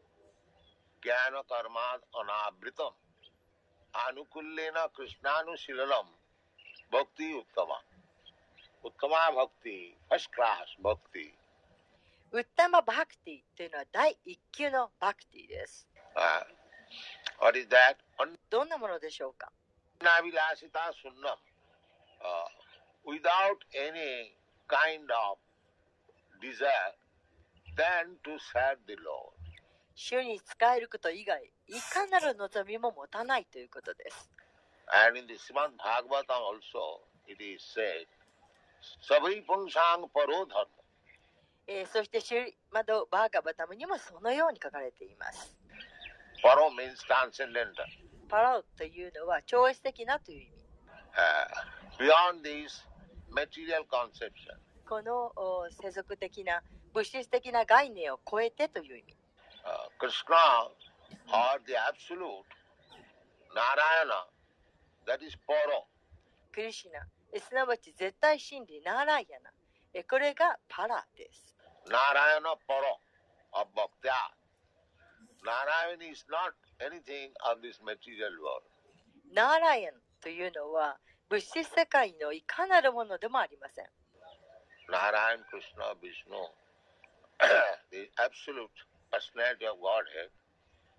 jnana karmad anabritam anukullena krishnanushilalam bhakti uttama uttama bhakti first class bhakti. ウッタマバクティというのは第一級のバクティです。 Uh, what is that? どんなものでしょうか。 Annavilasita sunnam uh, without any kind of desire than to serve the Lord. 主に仕えること以外、いかなる望みも持たないということです。 And in the Srimad Bhagavatam also it is said, Sabhi Punsang Paro Dharma. えー、そしてシュリマドバーガバタムにもそのように書かれています。 Paro means transcendental. パラオというのは超越的なという意味。 Uh, beyond this material conception. この世俗的な物質的な概念を超えてという意味。 Uh, Krishna or the absolute Narayana, that is Paro. クリシュナ、すなわち絶対真理ナーライヤナ、えこれがパラです。 Narayana Paro of Bhaktya. Narayana is not anything of this material world. ナーライヤンというのは物質世界のいかなるものでもありません。 Narayan, Krishna, Vishnu, the absolute personality of Godhead,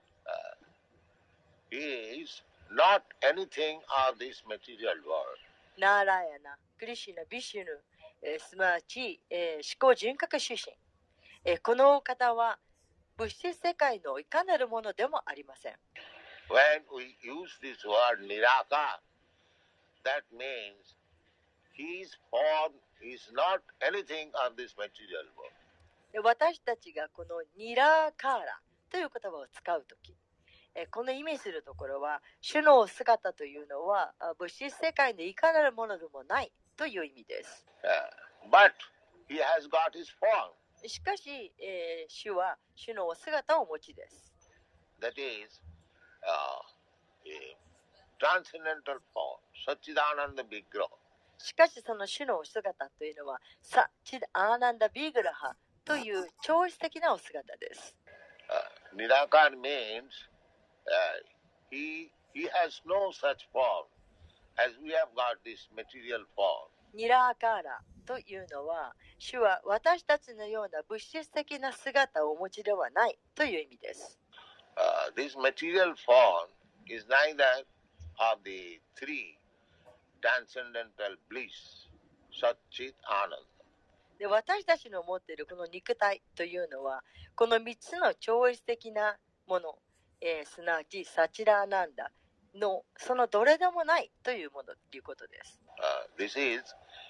uh, is not anything of this material world. ナーラヤナ、クリシュナ、ビシュヌ、えー、すなわち、えー、思考人格出身、えー、この方は物質世界のいかなるものでもありません。 When we use this word Niraka, that means his form is not anything of this material world. 私たちがこのニラーカーラという言葉を使うとき、この意味するところは、主の姿というのは物質世界のいかなるものでもないという意味です。 Uh, but he has got his form. しかし、えー、主は主のお姿をお持ちです。 That is, uh, a transcendental form, Satchidananda Vigraha. しかしその主のお姿というのは、サチダアーナンダビグラハという超越的なお姿です。 Uh, Nirakar means uh, he, he has no such form as we have got this material form. ニラーカーラというのは、主は私たちのような物質的な姿をお持ちではないという意味です。 Uh, this material form is neither of the three transcendental bliss, Satchit Ananda. で、私たちの持っているこの肉体というのは、このみっつの超越的なもの、えー、すなわちサチラーナンダのそのどれでもないというものということです。 Uh, this is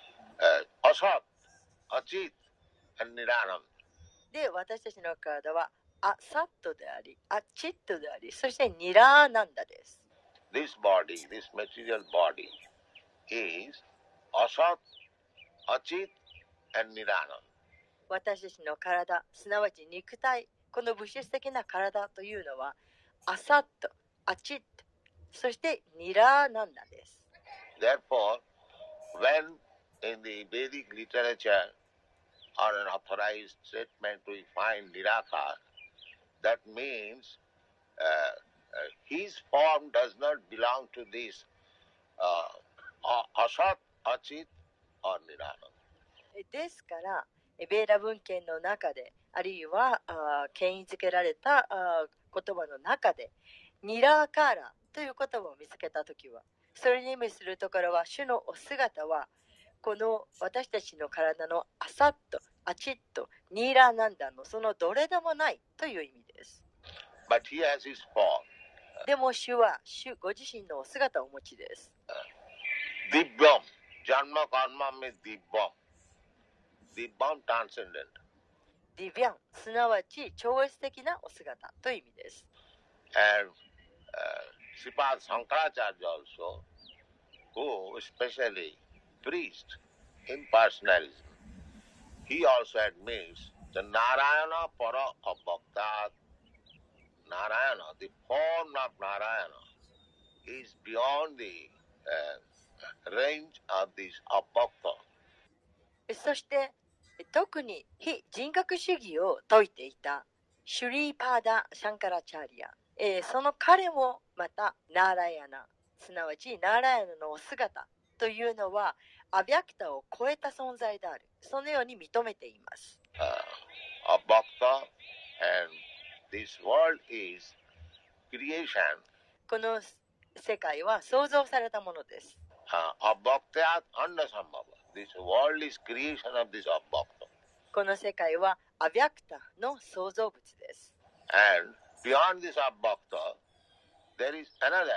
uh, Asat, Achit, and Niranam. で、私たちの体はアサットであり、アチットであり、そしてニラーナンダです。 This body, this material body is Asat, Achit, and Niranam. 私たちの体、すなわち肉体、この物質的な体というのはアサット、アチット、そしてニラーナンダです。 Therefore, when in the Vedic literature or an authorized statement we find Nirakar, that means uh, uh, his form does not belong to this uh, Asat, Achit, or Niranam. ですから、ベーダ文献の中で、あるいはあ権威づけられたあ言葉の中で、ニラーカーラという言葉を見つけたときは、それに意味するところは、主のお姿は、この私たちの体のアサット、アチット、ニーラーナンダのそのどれでもないという意味です。 But he has his form. でも主は主ご自身のお姿をお持ちです。 Divyam, Janma Karma means Divyam. Divyam transcendent. ディビャン、すなわち超越的なお姿という意味です。 And uh, Sripad Sankaracharya also, who especially preached impersonalism, he also admits the Narayana para abhaktat. Narayana, the form of Narayana, is beyond the uh, range of this abhakta. そして特に非人格主義を説いていたシュリーパーダ・シャンカラチャーリア、えー、その彼もまたナーラヤナ、すなわちナーラヤナのお姿というのはアビャクタを超えた存在である、そのように認めています。 Uh, abhakta and this world is creation. この世界は創造されたものです。 Uh, abhaktyat andasambhava. This world is creation of this abhakta. この世界はアビャクタの創造物です。 And beyond this abhakta, there is another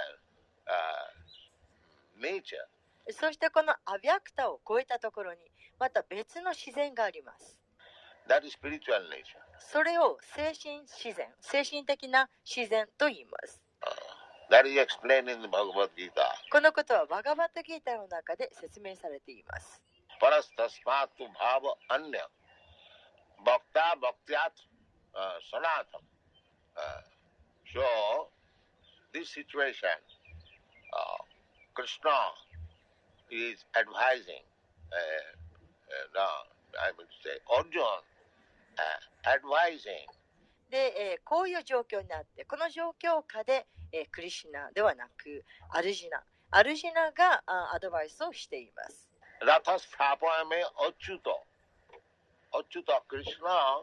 uh, nature. そしてこのアビャクタを超えたところにまた別の自然があります。 That is spiritual nature. それを精神自然、精神的な自然と言います。 Uh, that is explained in the Bhagavad Gita. このことはバガバットギータの中で説明されています。 Parastasmatu bhava anya bhakta bhaktyat uh, sanatam. Uh, so, this situation, uh, Krishna is advising, uh, uh, no, I would say, Arjuna, uh, advising. で、えー、こういう状況になって、この状況下で、えー、クリシュナではなく、アルジナ、アルジナがあアドバイスをしています。 Rathas thapayame achyuta. Achyuta Krishna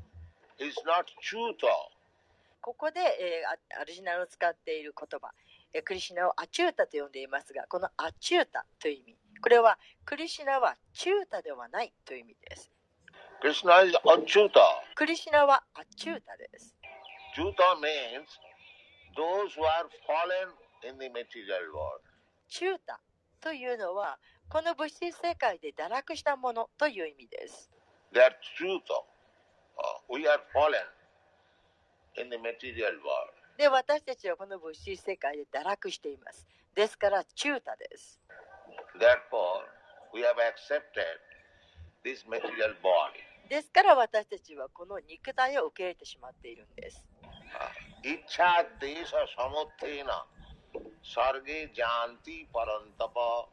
uh, is not chuta. ここで、えー、アルジナの使っている言葉、 クリシュナをアチュータと呼んでいますが、このアチュータという意味、これはクリシュナはチュータではないという意味です。 Krishna is Achyuta. クリシュナはアチュータです。 Achyuta means those who are fallen in the material world. チュータというのはこの物質世界で堕落したものという意味です。 They are Achyuta. Uh, we are fallen in the material world. で、私たちはこの物質世界で堕落しています。ですからチュータです。 Therefore, we have accepted this material body. ですから私たちはこの肉体を受け入れてしまっているんです。 イッチャデーシャサモテーナサルゲジャンティパランタパ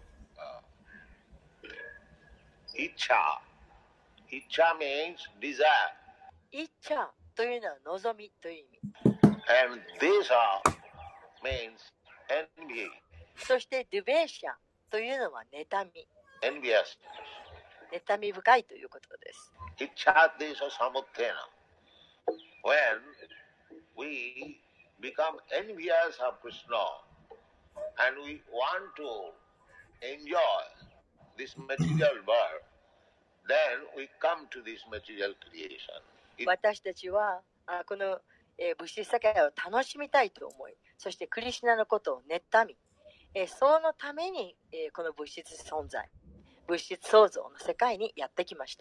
イッチャイッチャ means desire. イッチャというのは望みという意味。 And desha means envy. そしてデュベーシャというのは妬み。 Envious. 妬み深いということです。 イッチャデーシャサモテーナ When we become envious of Krishna and we want to enjoy this material world, then we come to this material creation. It, 私たちはあこの、えー、物質世界を楽しみたいと思い、そしてクリシュナのことを妬み、えー、そのために、えー、この物質存在、物質創造の世界にやってきました。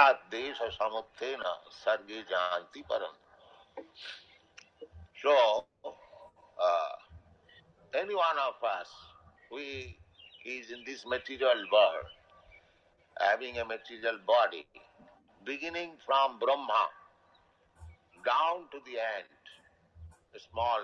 So, uh, any one of us, we is in this material world, having a material body, beginning from Brahma down to the end, a small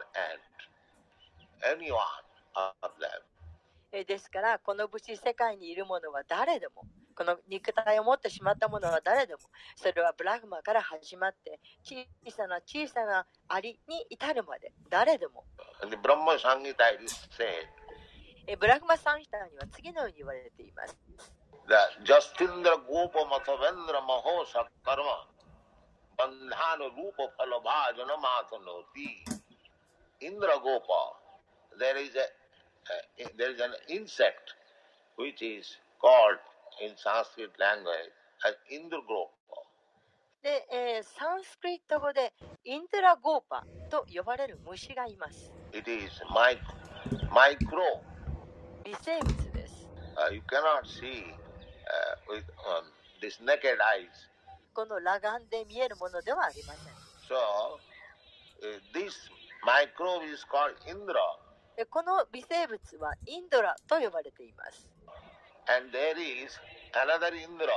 ant, any one of them. ですからこの物質世界にいるものは誰でも、この肉体を持ってしまったものは誰でも、それはブラフマから始まって小さな小さなアリに至るまで誰でも。 The Brahma Samhita is said, ブラフマサンヒタには次のように言われています。 that Justindra Gopa Mathavendra Maho Sakarma Bandhana Rupa Phalabhajana Mathanoti. Indra Gopa, there is a uh, there is an insect which is called in Sanskrit language as Indra Gopa. で、えー、サンスクリット語でインドラゴーパと呼ばれる虫がいます。 It is micro, micro. 微生物です。 Uh, you cannot see uh, with um, this naked eyes. この裸眼で見えるものではありません。 So, uh, this microbe is called Indra. この微生物はインドラと呼ばれています。 And there is another Indra,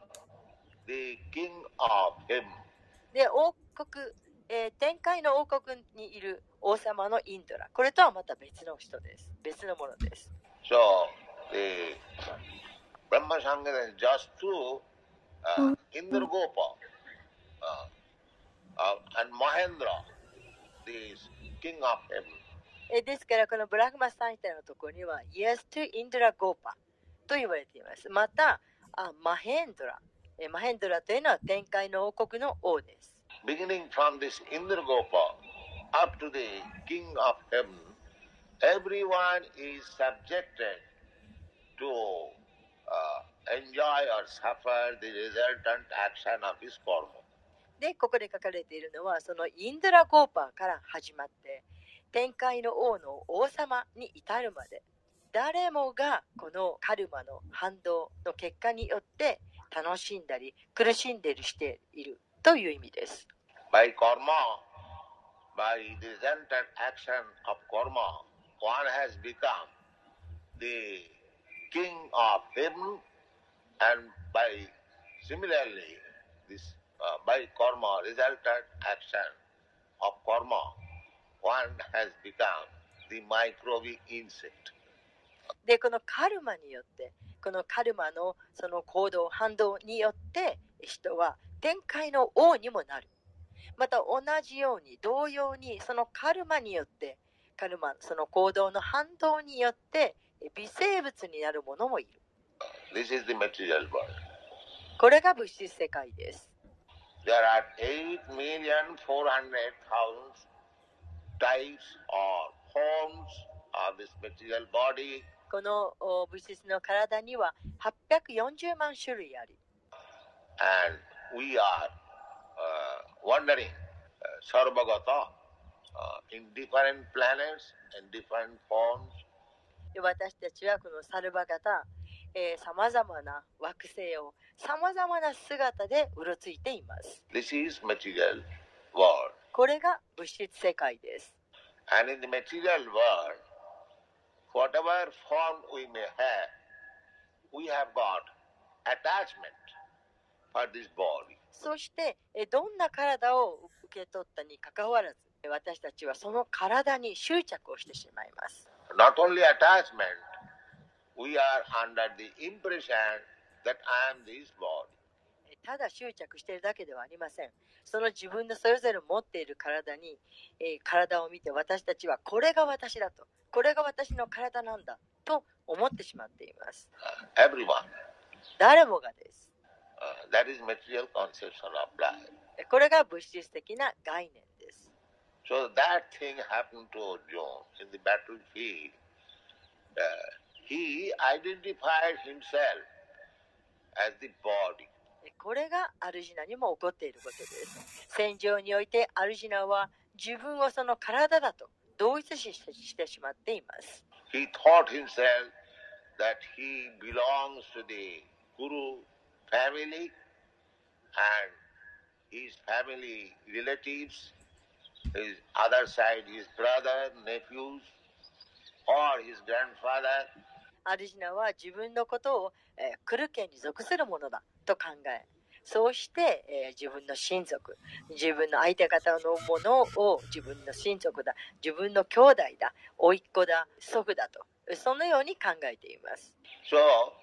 the king of heaven. で、王国、えー、天界の王国にいる王様のインドラ。これとはまた別の人です。別のものです。 So, the Brahma Samhita is just to uh, Indra Gopa uh, uh, and Mahendra, the king of heaven. えですからこのブラフマサンヒタのところには Yes to Indra Gopa と言われています。またあマヘンドラ、えマヘンドラというのは天界の王国の王です。 Beginning from this Indra Gopa up to the king of heaven, everyone is subjected to uh, enjoy or suffer the resultant action of his karma. で、ここで書かれているのはそのインドラゴーパーから始まって天界の王の王様に至るまで誰もがこのカルマの反動の結果によって楽しんだり苦しんでいるしているという意味です。 By karma, by the resultant action of karma, one has become the king of heaven, and by similarly, this uh, by karma resultant action of karma, one has become the microbe insect. で、このカルマによって、このカルマのその行動、反動によって人は天界の王にもなる。また同じように同様にそのカルマによってカルマその行動の反動によって微生物になるものもいる。 This is the material world. これが物質世界です。 There are eight million four hundred thousand types or forms this material body. このお物質の体にははっぴゃくよんじゅうまん種類あり、 And we are uh, wandering uh, sarvagata uh, in different planets, in different forms. で私たちはこのサルバ型、さまざまな惑星をさまざまな姿でうろついています。 This is material world. これが物質世界です。 And in the material world, whatever form we may have, we have got attachment for this body. そしてえどんな体を受け取ったにかかわらず、私たちはその体に執着をしてしまいます。 Not only attachment, we are under the impression that I am this body. ただ執着しているだけではありません。その自分のそれぞれ持っている体に、えー、体を見て私たちはこれが私だと、これが私の体なんだと思ってしまっています。 Uh, everyone. 誰もがです。 Uh, that is material conception of life. これが物質的な概念です。 So that thing happened to Arjuna in the battlefield. Uh, he identified himself as the body. これがアルジナにも起こっていることです。戦場においてアルジナは自分をその体だと同一視してしまっています。 He thought himself that he belongs to the Guru family and his family relatives, his other side, his brother, nephews, or his grandfather. アルジナは自分のことを、えー、クル家に属するものだと考え、そうして、えー、自分の親族、自分の相手方のものを自分の親族だ、自分の兄弟だ、甥っ子だ、祖父だと、そのように考えています。 So, uh,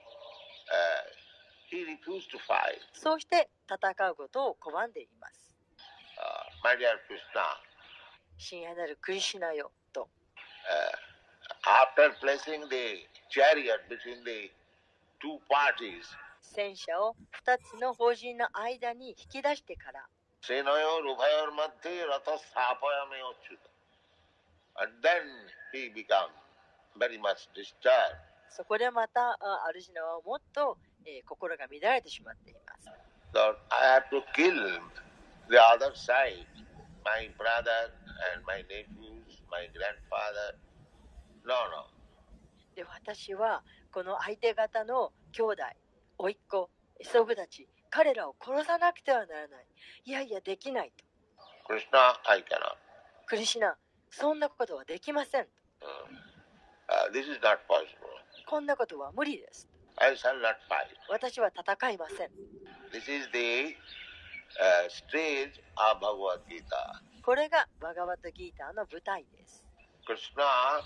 he refused to fight. そうして戦うことを拒んでいます。 Uh, my dear Krishna, 親愛なるクリシュナよと。 uh, after placing the chariot between the two parties, 戦車を二つの法人の間に引き出してから、 Senoyor Ubhayor Madhye Ratha Sthapayame Achyuta. And then he became very much disturbed. そこでまたアルジナはもっと、えー、心が乱れてしまっています。 So I have to kill the other side, my brother and my nephews, my grandfather. No, no. で私はこの相手方の兄弟、甥っ子、祖父たち、彼らを殺さなくてはならない。いやいやできないと。 Krishna, I cannot. クリシュナ、そんなことはできません。 Uh, uh, this is not possible. こんなことは無理です。 I shall not fight. 私は戦いません。 This is the uh, stage of Bhagavad Gita. これがバガバットギーターの舞台です。 Krishna uh,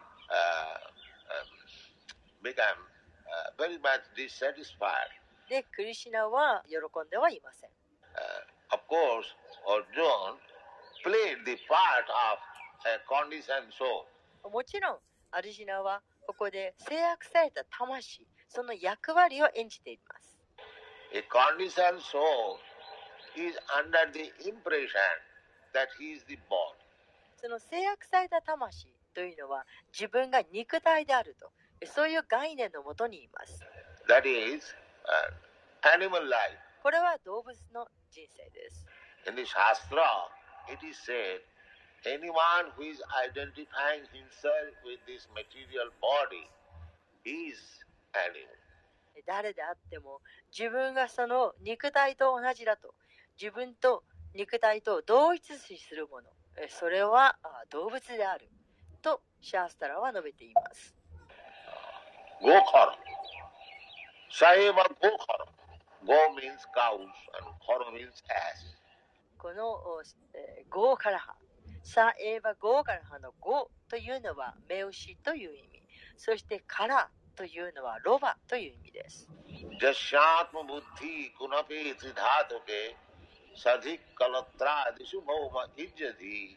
um, became uh, very much dissatisfied. で、クリシュナは喜んではいません。 Uh, of course, Arjuna played the part of a conditioned soul. もちろん、アルジナはここで制約された魂、その役割を演じています。 A conditioned soul is under the impression that he is the body. その制約された魂というのは自分が肉体であると、そういう概念のもとにいます。 That is uh, animal life. これは動物の人生です。 In the Shastra, it is said, anyone who is identifying himself with this material body is animal. 誰であっても自分がその肉体と同じだと、自分と肉体と同一視するもの、それは動物であるとシャースタラは述べています。 Gokara. Saeva Gokara. Go means cows and Kara means ass. このゴーカラハ、サエーバゴーカラハのゴというのは目牛という意味、そしてカラというのはロバという意味です。 Jasyatma buddhi kunape tridhatuke sadhik kalatra disubhoma ijjati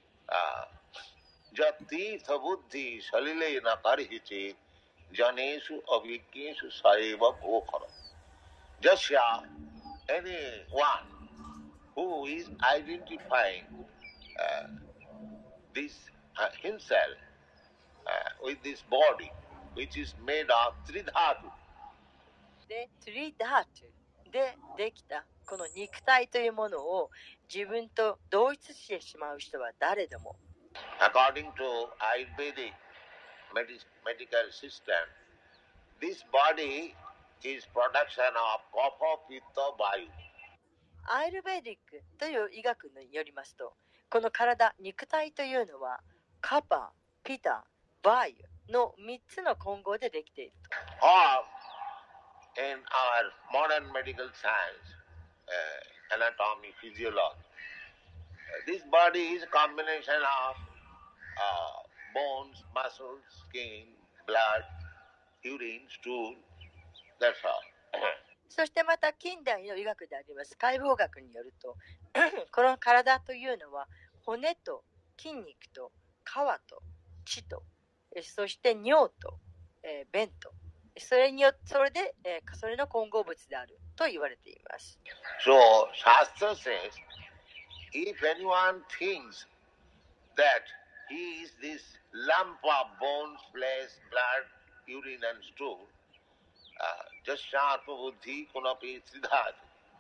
jatirtha buddhi salile na karihiche janesu avikeshu saeva bhokara. Jasya, anyone who is identifying uh, this uh, himself uh, with this body, which is made of three dhatu. で、トリダートでできたこの肉体というものを自分と同一してしまう人は誰でも。 According to Ayurvedic medi- medical system, this body is production of kapha, pitta, vayu. アイルベーディックという医学によりますと、この体、肉体というのはカパ、ピタ、バイユのみっつの混合でできていると。 Or in our modern medical science, uh, anatomy, physiology, uh, this body is a combination of uh, bones, muscles, skin, blood, urine, stool, that's all. そしてまた近代の医学であります解剖学によるとこの体というのは骨と筋肉と皮と血とそして尿と、えー、便とそれによそれで、えー、それの混合物であると言われています。 So Shastra says, if anyone thinks that he is this lump of bones, flesh, blood, urine and stool, uh, just sharpa buddhi kunapi tridhat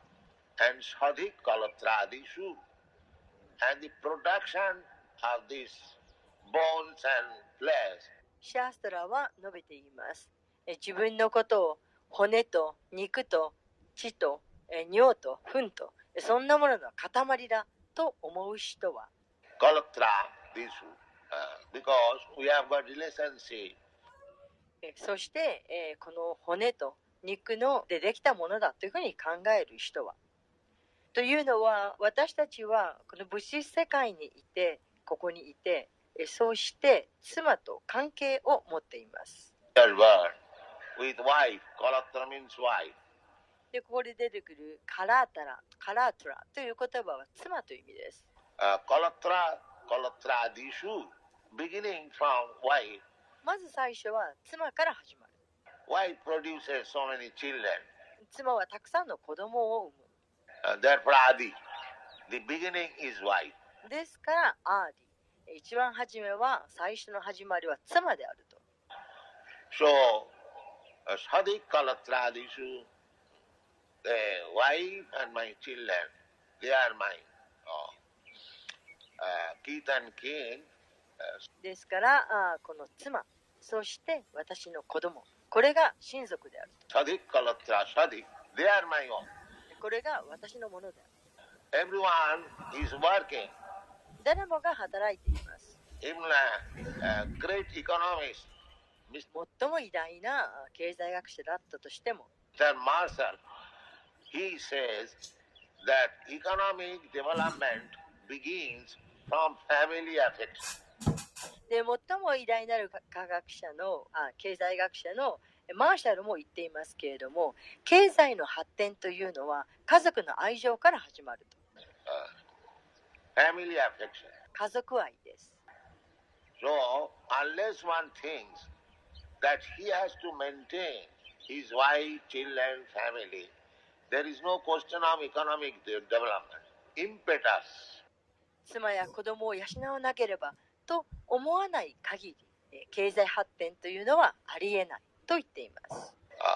and sadhik kalatradishu, and the production of these bones and flesh. シャーストラは述べています。え自分のことを骨と肉と血とえ尿と糞とそんなものの塊だと思う人は Kalatradishu, uh, because we have got relationship. そして、えー、この骨と肉のでできたものだというふうに考える人はというのは私たちはこの物質世界にいてここにいてそうして妻と関係を持っています。 With wife, Kalatra means wife. でここで出てくるカラータラ、カラートラという言葉は妻という意味です。 Uh, Kalatra, Kalatradishu, beginning from wife. まず最初は妻から始まる。 Wife produces so many children. 妻はたくさんの子供を産む。 Uh, therefore, Adi, the beginning is wife. ですからアーディ、一番初めは最初の始まりは妻であると。 So, uh, Sadhik Kalatradishu, the wife and my children, they are my uh, uh, kith and kin. ですからあこの妻そして私の子供これが親族である。 Sadhik Kalatra, Sadhik, they are my own. これが私のものである。Everyone is working. 誰もが働いています。 Even a, a great economist, 最も偉大な経済学者だったとしても、 Mister Marshall, he says that economic development begins from family affairs. で最も偉大なる科学者のあ経済学者のマーシャルも言っていますけれども、経済の発展というのは家族の愛情から始まると。 Uh, family affection. 家族愛です。 So, unless one thinks that he has to maintain his wife, children, family, there is no question of economic development. Impetus. 妻や子供を養わなければと思わない限り、経済発展というのはありえないと言っています。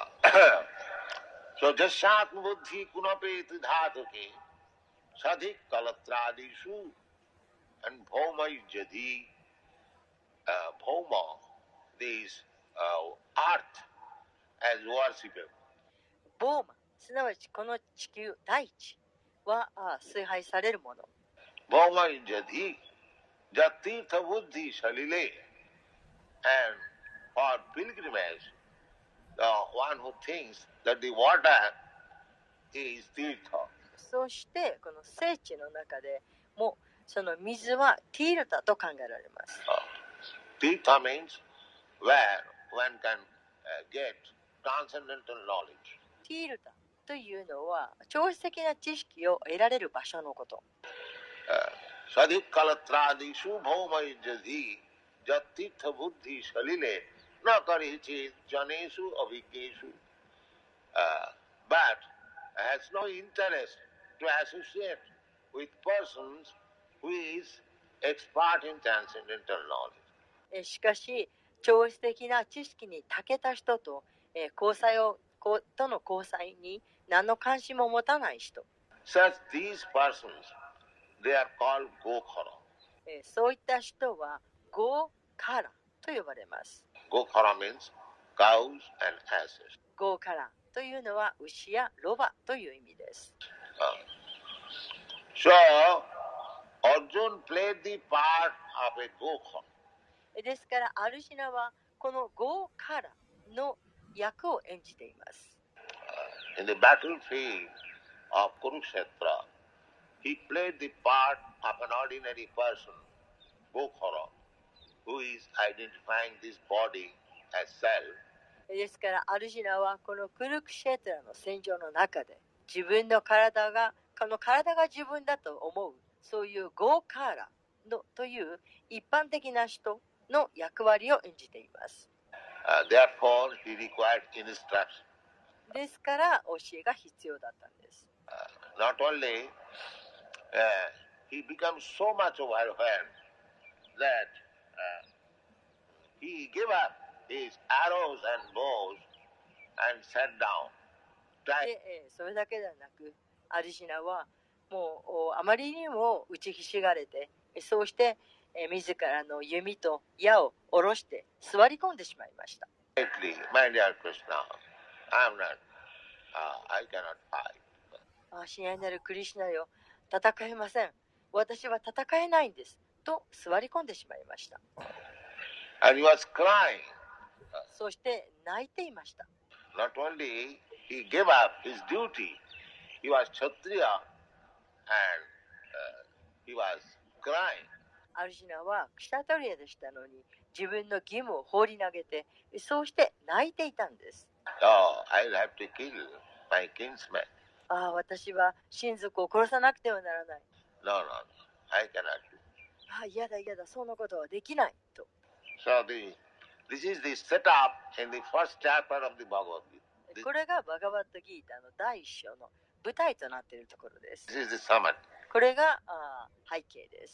So, jashat buddhi kunapeti dhatuke sadhik kalatradishu and bhoma yujadi uh, bhoma, this uh, earth as worshipable. ボーマ、すなわちこの地球大地は崇拝されるもの。 Bhoma yujadi jatirtha buddhi salile, and for pilgrimage, the one who thinks that the water is tirtha. そしてこの聖地の中でもその水はティールタと考えられます。 Tirtha means where one can uh, get transcendental knowledge. ティールタというのは超越的な知識を得られる場所のこと。 Sadhik kalatradishu bhoma yujadi jatirtha buddhi salile na karichit janesu abhikeshu, but has no interest to associate with persons who is expert in transcendental knowledge. しかし超越的な知識に長けた人と、えー、交際をとの交際に何の関心も持たない人。 Such these persons, they are called Gokhara. えー、そういった人はゴーカラと呼ばれます。 Gokhara means cows and asses. ゴーカラというのは牛やロバという意味です。 Uh, so, Arjun played the part of a Gokhara. ですから、アルジナはこのゴーカラの役を演じています。 Uh, in the battlefield of Kurukshetra, he played the part of an ordinary person, Gokhara, who is identifying this body as self. ですから、アルジナはこのクルクシェトラの戦場の中で、自分の体が、この体が自分だと思う、そういうゴーカーラのという一般的な人の役割を演じています。 Uh, therefore, he required instruction. ですから教えが必要だったんです。 Uh, not only uh, he becomes so much overwhelmed that uh, he gave up his arrows and bows and sat down. で、えー、それだけではなく、アリシナはもうあまりにも打ちひしがれて、そうして、えー、自らの弓と矢を下ろして座り込んでしまいました。 My dear Krishna, I'm not, uh, I cannot fight. あ、親愛なるクリシュナよ、戦えません。私は戦えないんです。と座り込んでしまいました。 And he was crying. そして泣いていました。 Not only he gave up his duty, he was Kshatriya and、uh, he was crying. アルジナはクシャトリアでしたのに、自分の義務を放り投げて、そうして泣いていたんです。 Oh, I'll have to kill my kinsman. ああ、私は親族を殺さなくてはならない。 No, no, no, I cannot do. ああ、嫌だ嫌だ、そんなことはできないと。 So the, this is the setup in the first chapter of the Bhagavad Gita. これがバガバットギータの第一章の舞台となっているところです。 This is the summit. これがあ背景です。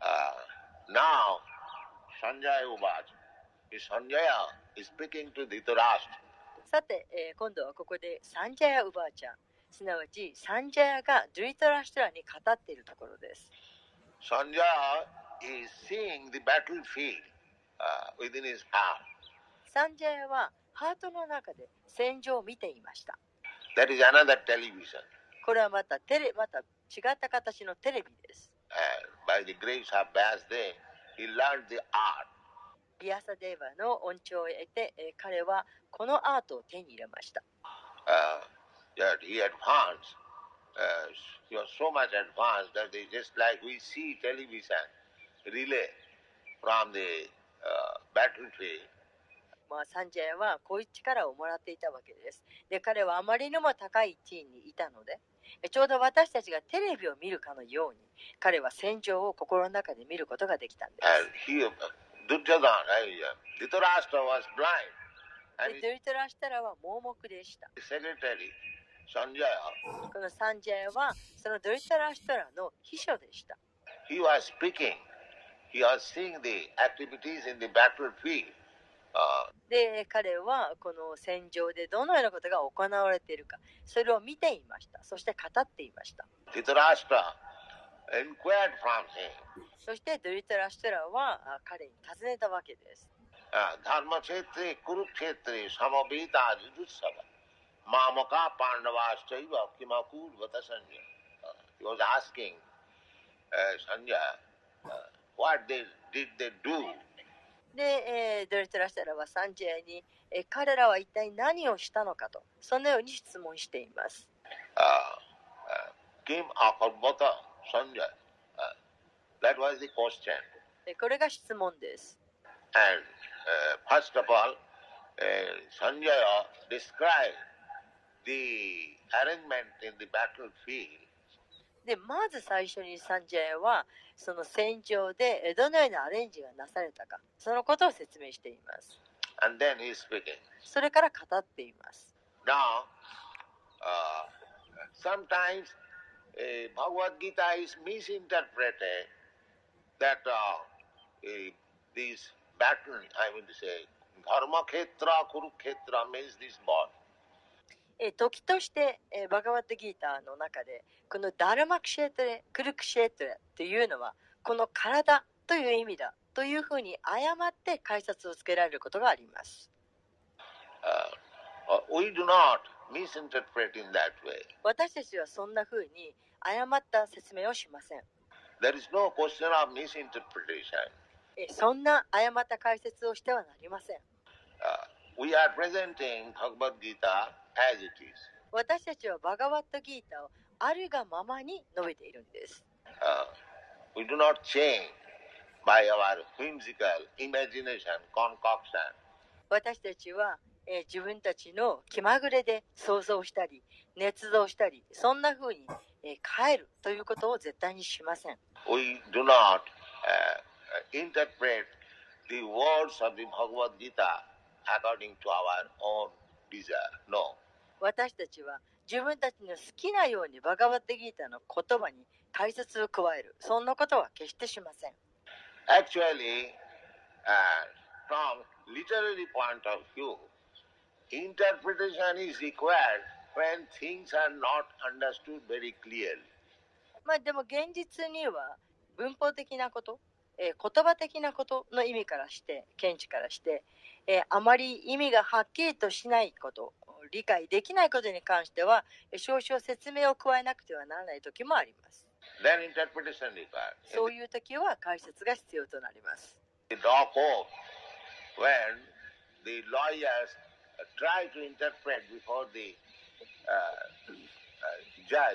Uh, now, Sanjaya Uvaja. Sanjaya is speaking to Dhritarashtra. さて、えー、今度はここでサンジャヤウバーちゃん、すなわちサンジャヤがドゥリタラシュトラに語っているところです。 Sanjaya is seeing the battlefield uh, within his heart. サンジャヤはハートの中で戦場を見ていました。 That is another television. これはまたテレ、また違った形のテレビです。 And by the grace of Vyasdev, he learned the art. ビアサデーバの恩寵を得て、えー、彼はこのアートを手に入れました。 Uh, that he advanced. Uh, he was so much advanced that they just like we see television relay from the uh, battlefield. まあ、サンジャヤはこういう力をもらっていたわけです。で、彼はあまりにも高い地位にいたので、ちょうど私たちがテレビを見るかのように、彼は戦場を心の中で見ることができたんです。 And he, Duryodhana, Dhritarashtra was blind. で、ドゥリタラシュタラは盲目でした。 The secretary, Sanjaya, このサンジャヤはそのドゥリタラシュタラの秘書でした。 he was speaking. He was seeing the activities in the battlefield. Uh, で、彼はこの戦場でどのようなことが行われているか、それを見ていました。そして語っていました。 Dhritarashtra inquired from him. そしてドゥリタラシュタラは彼に尋ねたわけです。 Dharmakshetre Kurukshetre Samaveta Jujutsava Mamaka Pandavaschaiva Kimakur Vatasanya. He was asking uh, Sanjaya uh, what they, did they do. で、えー、ドゥリタラシュタラはサンジャヤに、えー、彼らは一体何をしたのかと、そのように質問しています。 Uh, uh, Kim Akarvata Sanjaya. Uh, that was the question. これが質問です。 And uh, first of all, uh, Sanjaya described the arrangement in the battlefield. で、まず最初にサンジャヤはその戦場でどのようなアレンジがなされたか、そのことを説明しています。 And then he is speaking. それから語っています。 Now, uh, sometimes uh, Bhagavad Gita is misinterpreted that uh, uh, these battle, I mean to say, Dharma Khetra, Kurukshetra means this body. えー時として、えーバガバットギーターの中でこのダルマクシェートレ、クルクシェートレというのはこの体という意味だというふうに誤って解説をつけられることがあります。 Uh, uh, we do not misinterpret in that way. 私たちはそんなふうに誤った説明をしません。 There is no question of misinterpretation. えーそんな誤った解説をしてはなりません。 Uh, we are presenting Bhagavad Gita as it is. 私たちはバガバットギータをあるがままに述べているんです。 Uh, we do not change by our whimsical imagination, concoction. 私たちは、えー自分たちの気まぐれで想像したり、捏造したり、そんな風に、えー変えるということを絶対にしません。 We do not uh, interpret the words of the Bhagavad Gita according to our own desire. No. 私たちは自分たちの好きなようにバガバットギータの言葉に解説を加える。そんなことは決してしません。 Actually, uh, from literary point of view, interpretation is required when things are not understood very clearly. まあでも現実には文法的なこと、えー言葉的なことの意味からして、見地からして、えーあまり意味がはっきりとしないこと、理解できないことに関しては、えー少々説明を加えなくてはならない時もあります。 Then interpretation required. そういう時は解説が必要となります。 The law court, when the lawyers try to interpret before the uh, uh, judge,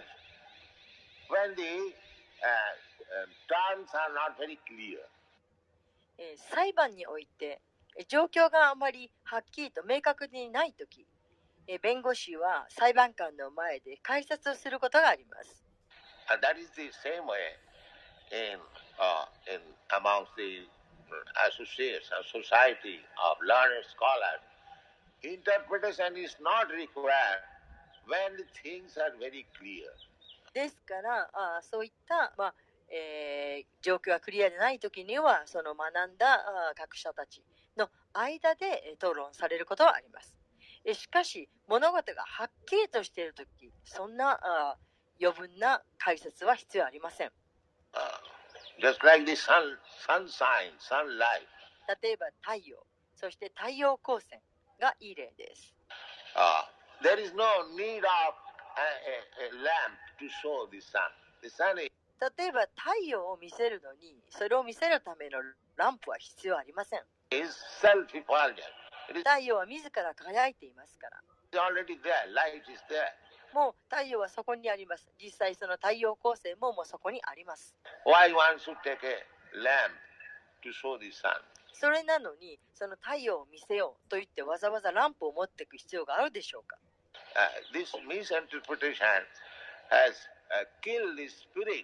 when the uh, uh, terms are not very clear, えー裁判においてえー状況があまりはっきりと明確にないとき、えー弁護士は裁判官の前で解説をすることがあります。 and that is the same way in uh, in amongst the associates and society of learned scholars. Interpretation is not required when the things are very clear. ですからあーそういった、まあえー状況がクリアでないときにはその学んだあー学者たちの間でえー討論されることはあります。えしかし物事がはっきりとしているとき、そんなあー余分な解説は必要ありません。 Uh, just like the sun, sunshine, sunlight. 例えば太陽、そして太陽光線がいい例です。 Uh, there is no need of a, a, a lamp to show the sun. The sun is 例えば太陽を見せるのに、それを見せるためのランプは必要ありません。 is self-effulgent. It is 太陽は自ら輝いていますから。 already there. Light is there. もう太陽はそこにあります。実際その太陽光線ももうそこにあります。 Why one should take a lamp to show the sun? それなのに、その太陽を見せようと言ってわざわざランプを持っていく必要があるでしょうか。 Uh, this misinterpretation has uh, killed the spirit,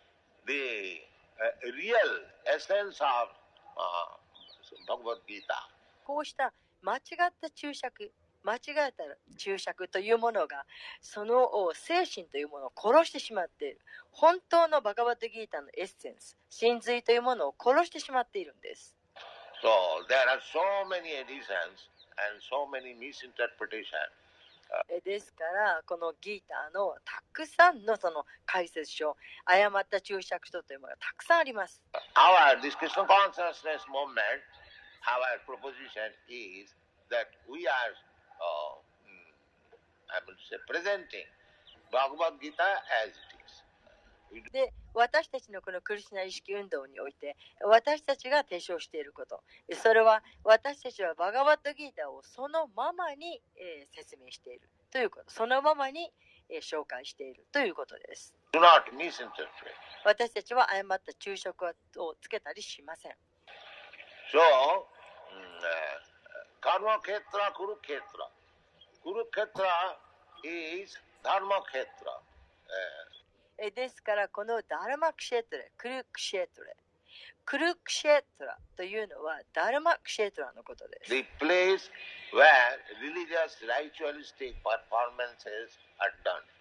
the uh, real essence of uh, Bhagavad Gita. こうした間違った注釈、間違えた注釈というものが、その精神というものを殺してしまっている。本当のバガバットギータのエッセンス、真髄というものを殺してしまっているんです。 So there are so many editions and so many misinterpretations. えですからこのギーターのたくさんのその解説書、誤った注釈書というものがたくさんあります。 Our, this Krishna consciousness movement, our proposition is that we are, uh, I would say, presenting Bhagavad Gita as it is. で、私たちのこのクリシュナ意識運動において、私たちが提唱していること、それは私たちはバガバットギータをそのままに、えー説明しているということ、そのままに、えー紹介しているということです。 Do not misinterpret. 私たちは誤った注釈をつけたりしません。 So, mm, uh, Karma Khetra, Kurukshetra. Kurukshetra is Dharma Khetra. Uh, えーですからこのダルマクシェトレ、クルクシェトレ、クルクシェトラというのはダルマクシェトラのことです。 the place where religious ritualistic performances are done.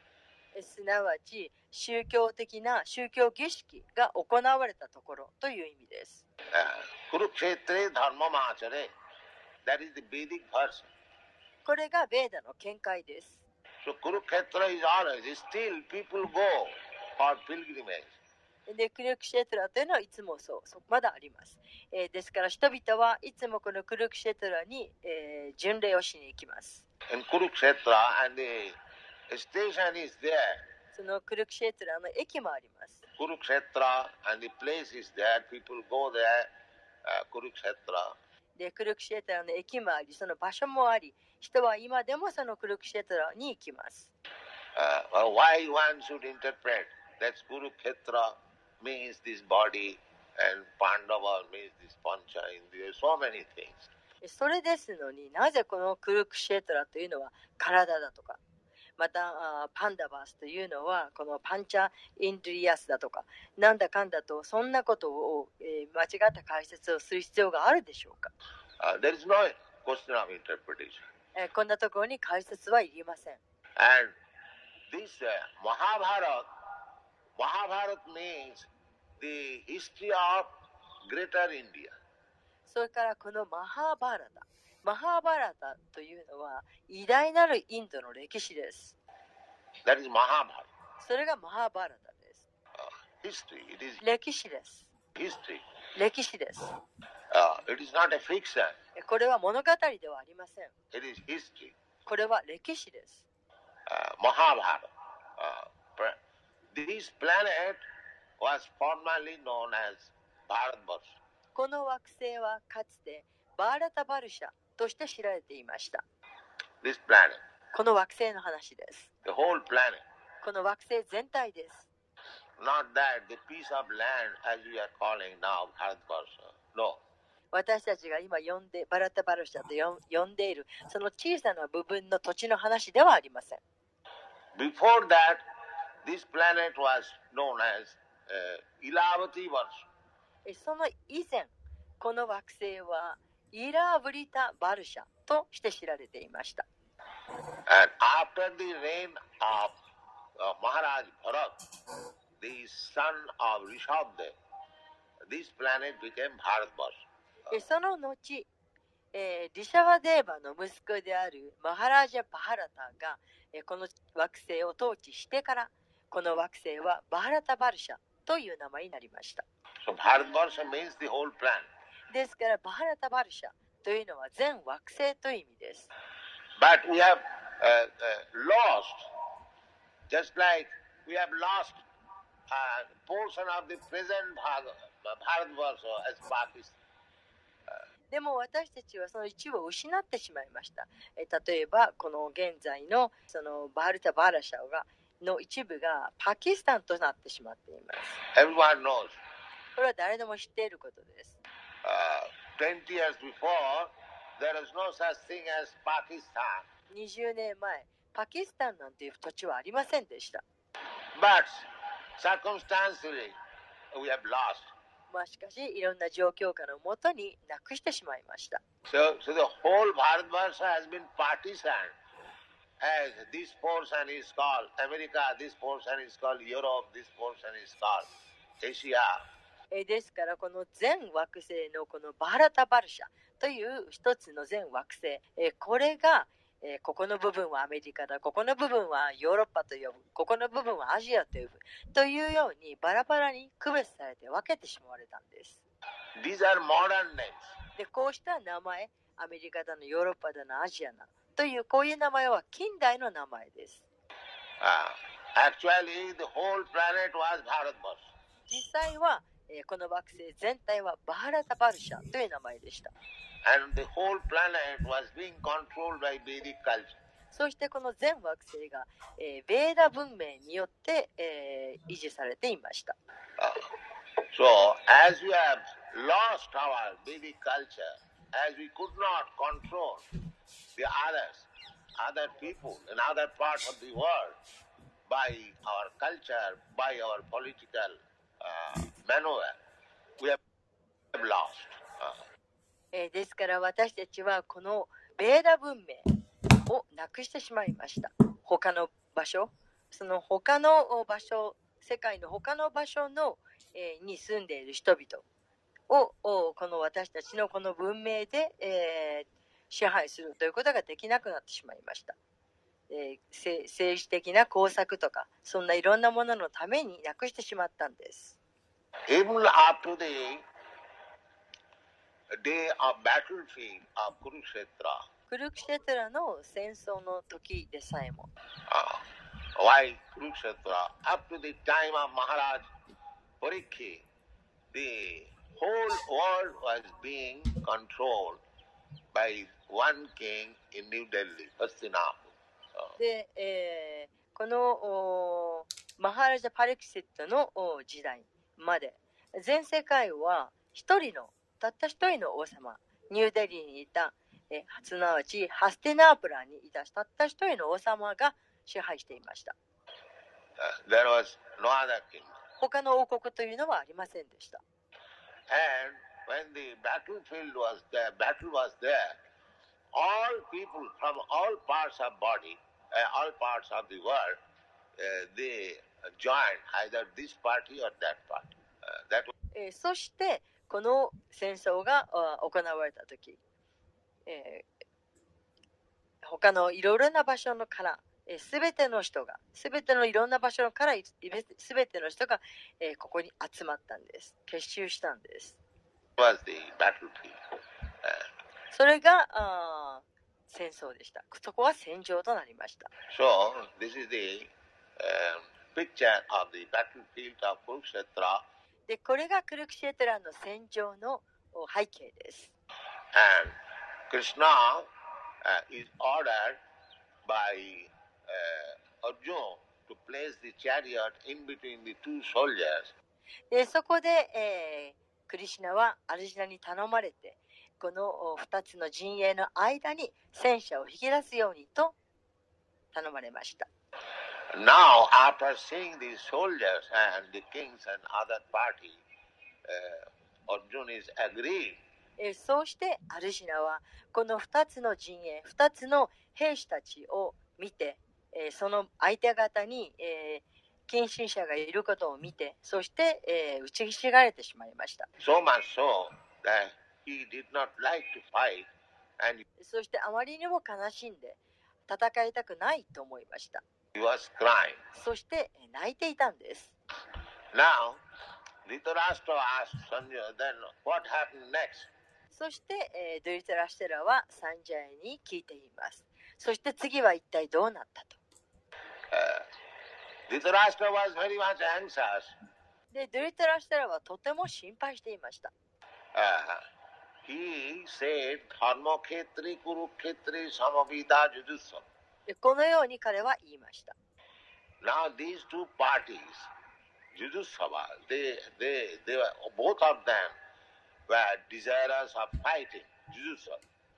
すなわち宗教的な宗教儀式が行われたところという意味です。 Uh, Kurukshetre dharmamachare. That is the Vedic version. これがベーダの見解です。 So Kurukshetra is always, still people go for pilgrimage. で、クルクシェトラというのはいつもそう、そまだあります。えー、ですから人々はいつもこのクルクシェトラに、えー、巡礼をしに行きます。 In Kurukshetra and the station is there. そのクルクシェトラの駅もあります。 Kurukshetra and the place is there. People go there. Uh, Kurukshetra. で、クルクシェトラの駅もあり、その場所もあり、人は今でもそのクルクシェトラに行きます。 Uh, well, why one should interpret that Kurukshetra means this body and Pandava means this Pancha Indriya, so many things. それですのになぜこのクルクシェトラというのは体だとか、またパンダバースというのはこのパンチャインドリアスだとか、なんだかんだとそんなことを、えー、間違った解説をする必要があるでしょうか。 Uh, there is no question of interpretation. えー、こんなところに解説はいりません。 And this uh, Mahabharata, Mahabharata means the history of Greater India. それからこのマハーバーラタ、マハーバーラタというのは偉大なるインドの歴史です。 That is Mahabharata. それがマハーバーラタです。 Uh, history. It is 歴史です。 history. 歴史です。 Uh, it is not a fiction. これは物語ではありません。 It is history. これは歴史です。 Uh, Mahabharata. Uh, this planet was formerly known as Bharatvarsha. この惑星はかつてバーラタバルシャとして知られていました。 This planet. この惑星の話です。 The whole planet. この惑星全体です。 Not that the piece of land as we are calling now Bharatvarsha. No. 私たちが今呼んでバラタバルシャと呼んでいるその小さな部分の土地の話ではありません。 Before that, this planet was known as uh, Ilavati Varsha. その以前、この惑星はイラーブリタ・バルシャとして知られていました。 And after the reign of uh, Maharaj Bharat, the son of Rishabdev, this planet became Bharatvarsha. その後、えー、リシャワデーバの息子であるマハラージャ・バハラタが、えー、この惑星を統治してから、この惑星はバハラタ・バルシャという名前になりました。 So Bharatvarsha means the whole planet. ですからバハラタ・バルシャというのは全惑星という意味です。 But we have uh, uh, lost, just like we have lost a portion of the present Bharatvarsha as Pakistan. でも私たちはその一部を失ってしまいました。え例えばこの現在のそのバールタ・バーラシャがの一部がパキスタンとなってしまっています。 Everyone knows. これは誰でも知っていることです。 Uh, twenty years before, there is no such thing as Pakistan. にじゅうねんまえ、パキスタンなんていう土地はありませんでした。 But circumstantially, we have lost. まあしかし、いろんな状況下のもとになくしてしまいました。 So, so the whole Bharatvarsha has been partitioned. As this portion is called America, this portion is called Europe, this portion is called Asia. ですからこの全惑星のこのバーラタバルシャという一つの全惑星、これがここの部分はアメリカだ、ここの部分はヨーロッパと呼ぶ、ここの部分はアジアと呼ぶというようにバラバラに区別されて分けてしまわれたんです。 These are modern names. でこうした名前、アメリカだのヨーロッパだのアジアだというこういう名前は近代の名前です。 Uh, actually, the whole planet was Bharatvarsha. 実際はこの惑星全体はバーラタバルシャという名前でした。 And the whole planet was being controlled by Vedic culture. そしてこの全惑星が、えー、ベーダ文明によって、えー、維持されていました。 Uh, so, as we have lost our Vedic culture, as we could not control the others, other people in other parts of the world by our culture, by our political uh, maneuver, we have lost. Uh, えー、ですから私たちはこのベーダ文明をなくしてしまいました。他の場所、 その他の場所、世界の他の場所の、えー、に住んでいる人々を、この私たちのこの文明で、えー、支配するということができなくなってしまいました。えー、政治的な工作とか、そんないろんなもののためになくしてしまったんです。 Even after the day of battlefield of Kurukshetra, クルクシェトラの戦争の時でさえも、 uh, why Kurukshetra? Up to the time of Maharaj Parikshit, the whole world was being controlled by one king in New Delhi, Hastinapur. で、えー、このマハラジャ・パリキシットの時代まで全世界は一人のたった一人の王様、ニューデリーにいた、えー、すなわちハスティナープラにいたたった一人の王様が支配していました。 Uh, there was no other king. 他の王国というのはありませんでした。 And when the battlefield was there, battle was there, all people from all parts of body, uh, all parts of the world, uh, they joined either this party or that party. Uh, that was... えー、そしてこの戦争が行われたとき、えー、他のいろいろな場所のからすべての人が、すべてのいろんな場所からすべての人が、えー、ここに集まったんです。結集したんです。 was the battlefield. Uh, それがあ戦争でした。そこは戦場となりました。 So, this is the、uh, picture of the battlefield of Kurukshetra. で、これがクルクシェトラの戦場の背景です。 And Krishna、uh, is ordered by Uh, Arjuna to place the chariot in between the two soldiers. でそこで、えー、クリシュナはアルジュナに頼まれて、このふたつの陣営の間に戦車を引き出すようにと頼まれました。 Now, after seeing the soldiers and the kings and other party, uh, Arjuna is agreed. えー、そうしてアルジュナはこのふたつの陣営、ふたつの兵士たちを見て、えー、その相手方に、えー、近親者がいることを見て、そして、えー、打ちひしがれてしまいました。 So much so that he did not like to fight, and そしてあまりにも悲しんで戦いたくないと思いました。 he was crying. そして泣いていたんです。 Now, Dhritarashtra asked Sanjaya, then what happened next? そして、えー、ドゥリタラシュテラはサンジャヤに聞いています。そして次は一体どうなったと。 Uh, Dhritarashtra was very much anxious. で、ドゥリタラシュテラはとても心配していました。 Uh, he said, Dharmakhetri Kurukhetri Samavida Jujutsu. このように彼は言いました。 Now these two parties, Jujutsawa, they, they, they were, both of them were desirous of fighting. Jujutsu.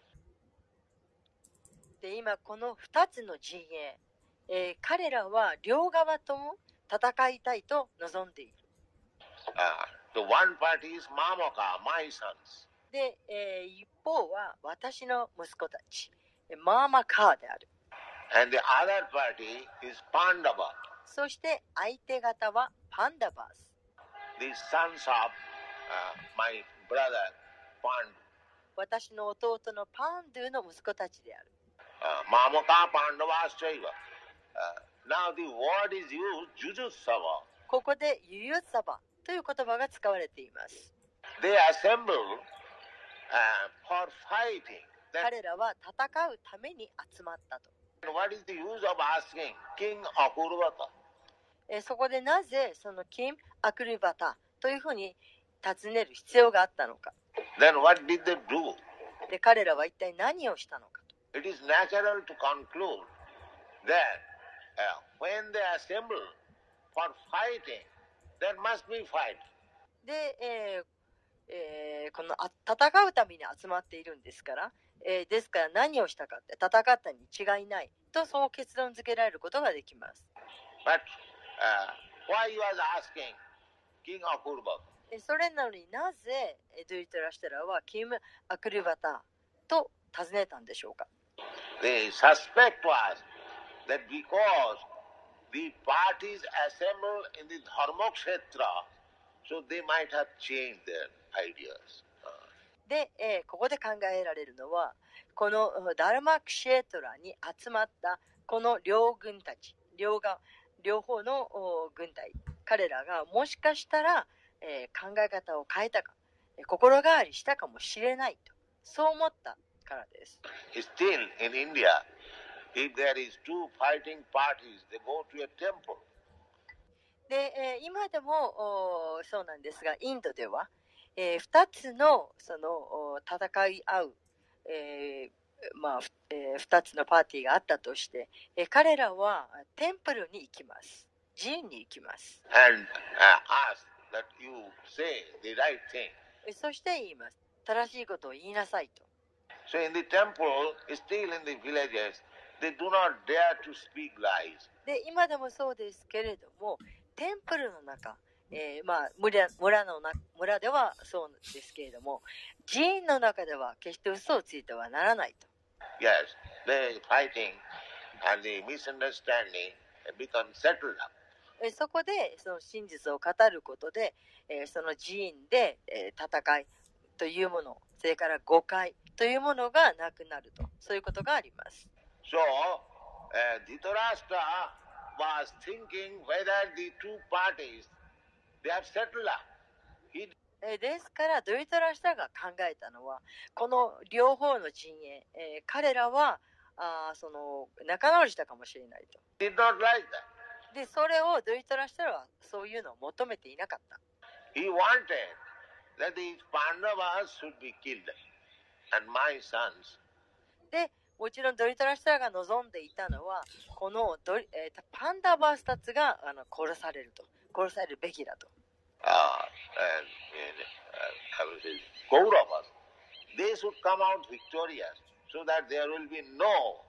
で、今このふたつの陣営、えー、彼らは両側とも戦いたいと望んでいる。 Uh, the one party is Mamaka, my sons. で、えー、一方は私の息子たち、マーマカーである。 And the other party is Pandava. そして相手方はパンダバース。 The sons of、uh, my brother Pandu. 私の弟のパンドゥの息子たちである。 Uh, Mamaka Pandavaschaiva. Uh, now the word is used, Jujutsawa. ここでユユサバという言葉が使われています。 They assemble、uh, for fighting. 彼らは戦うために集まったと。 What is the use of asking King Akurvata? えそこでなぜそのキン・アクルバタというふうに尋ねる必要があったのか。 Then what did they do? で彼らは一体何をしたのかと。 It is natural to conclude that、uh, when they assemble for fighting, there must be fight. で、えーえー、このあ戦うために集まっているんですから、えー、ですから何をしたかって戦ったに違いないとそう結論付けられることができます。 But、uh, why he was asking King Akurvata? それなのになぜドゥリトラシュテラはキム・アクルバタと尋ねたんでしょうか。 The suspect was that because the parties assemble in the Dharmakshetra, so they might have changed their ideas. で、えーここで考えられるのは、このダルマクシェートラに集まったこの両軍たち、両が両方のお軍隊、彼らがもしかしたら、えー考え方を変えたか、えー心変わりしたかもしれないと、そう思ったからです。 Still in India, if there is two fighting parties, they go to a temple. で、えー今でもおそうなんですが、インドでは、えー、ふたつのそのお戦い合う、えーまあふえー、ふたつのパーティーがあったとして、えー彼らはテンプルに行きます。寺院に行きます。 And uh, ask that you say the right thing. えーそして言います。正しいことを言いなさいと。 So in the temple, still in the villages, they do not dare to speak lies. で、今でもそうですけれども、テンプルの中、えーまあ、村, 村, のな村ではそうですけれども、寺院の中では決して嘘をついてはならないと。 Yes, the fighting and the misunderstanding become settled up. えーそこでその真実を語ることで、えーその寺院で、えー戦いというもの、それから誤解というものがなくなると、そういうことがあります。 So, uh, Dhritarashtra was thinking whether the two parties, they have settled up. He えーですからドリトラシタが考えたのは、この両方の陣営、えー彼らはあーその仲直りしたかもしれないと。 did not like that. で、それをドリトラシタはそういうのを求めていなかった。 He wanted that these Pandavas should be killed and my sons. で、もちろんドリトラシタが望んでいたのは、このドリ、えーパンダバースたちがあの殺されると、殺されるべきだと。 Uh, and, uh, I will say, Kauravas, they should come out victorious so that there will be no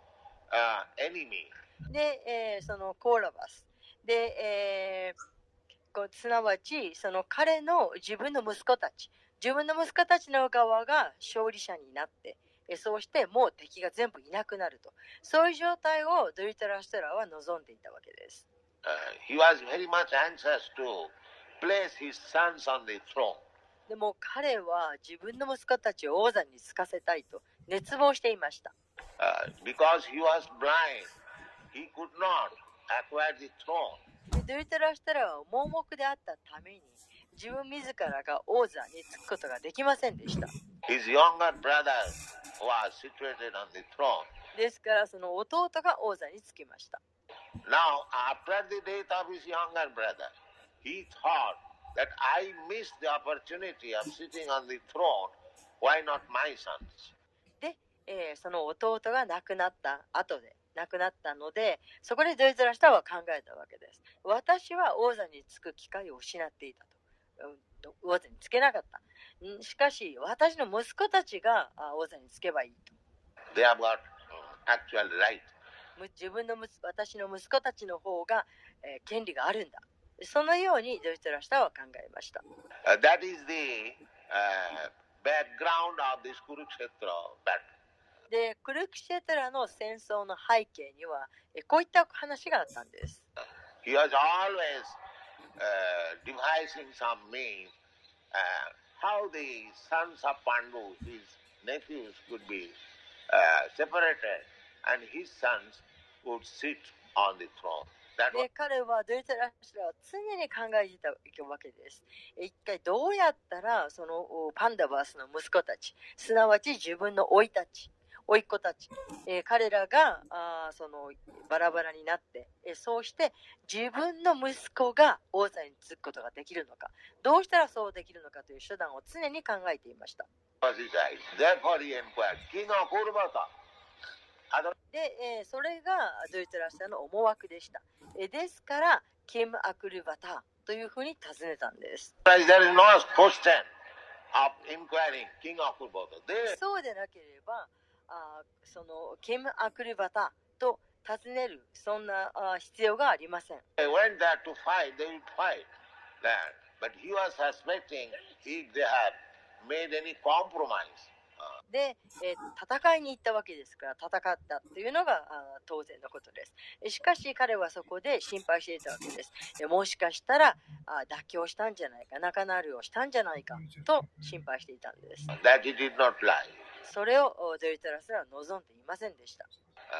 uh, enemy. で、えーそのコーラバスで、えーこうすなわちその彼の自分の息子たち、自分の息子たちの側が勝利者になって、えーそうしてもう敵が全部いなくなると、そういう状態をドリトラシトラは望んでいたわけです。 Uh, he was very much anxious to place his sons on the throne. でも彼は自分の息子たちを王座に就かせたいと熱望していました。 Uh, because he was blind, he could not acquire the throne. でドリトラシトラは盲目であったために自分自らが王座に就くことができませんでした。 His younger brother was situated on the throne. ですからその弟が王座に就きました。 Now, after the death of his younger brother, he thought that I missed the opportunity of sitting on the throne. Why not my sons? で、えーその弟が亡くなった後で亡くなったので、そこでドリトラシタは考えたわけです。私は王座に就く機会を失っていたと、うん、王座に就けなかった。んしかし私の息子たちがあ王座に就けばいいと。 They have got uh, actual right. む自分のむ私の息子たちの方が、えー権利があるんだ。そのようにドリトラシタは考えました。 Uh, that is the uh, background of this Kurukshetra battle. で、クルクシェトラの戦争の背景には、えこういった話があったんです。 He was always uh, devising some means uh, how the sons of Pandu, his nephews, could be uh, separated and his sons would sit on the throne. That was で、彼はドリトラシタは常に考えていたわけです。一体どうやったらそのおパンダバースの息子たち、すなわち自分の甥たち、甥っ子たち、えー彼らがあーそのバラバラになって、えーそうして自分の息子が王座に就くことができるのか、どうしたらそうできるのかという手段を常に考えていました。 his eyes. Therefore he inquired, King of Urvata. で、えーそれがドリトラシタの思惑でした。えーですから、キム・アクルバタというふうに尋ねたんです。 There is no question of inquiring King of Urvata. They そうでなければ、あーそのキム・アクルバタと尋ねる、そんなあー必要がありません。 They went there to fight, they would fight that. But he was suspecting if they had made any compromise. Uh, で、えー戦いに行ったわけですから、戦ったというのがあ当然のことです。しかし彼はそこで心配していたわけです。えもしかしたらあ妥協したんじゃないか、仲直りをしたんじゃないかと心配していたんです。 that he did not lie. それをドリトラスラは望んでいませんでした。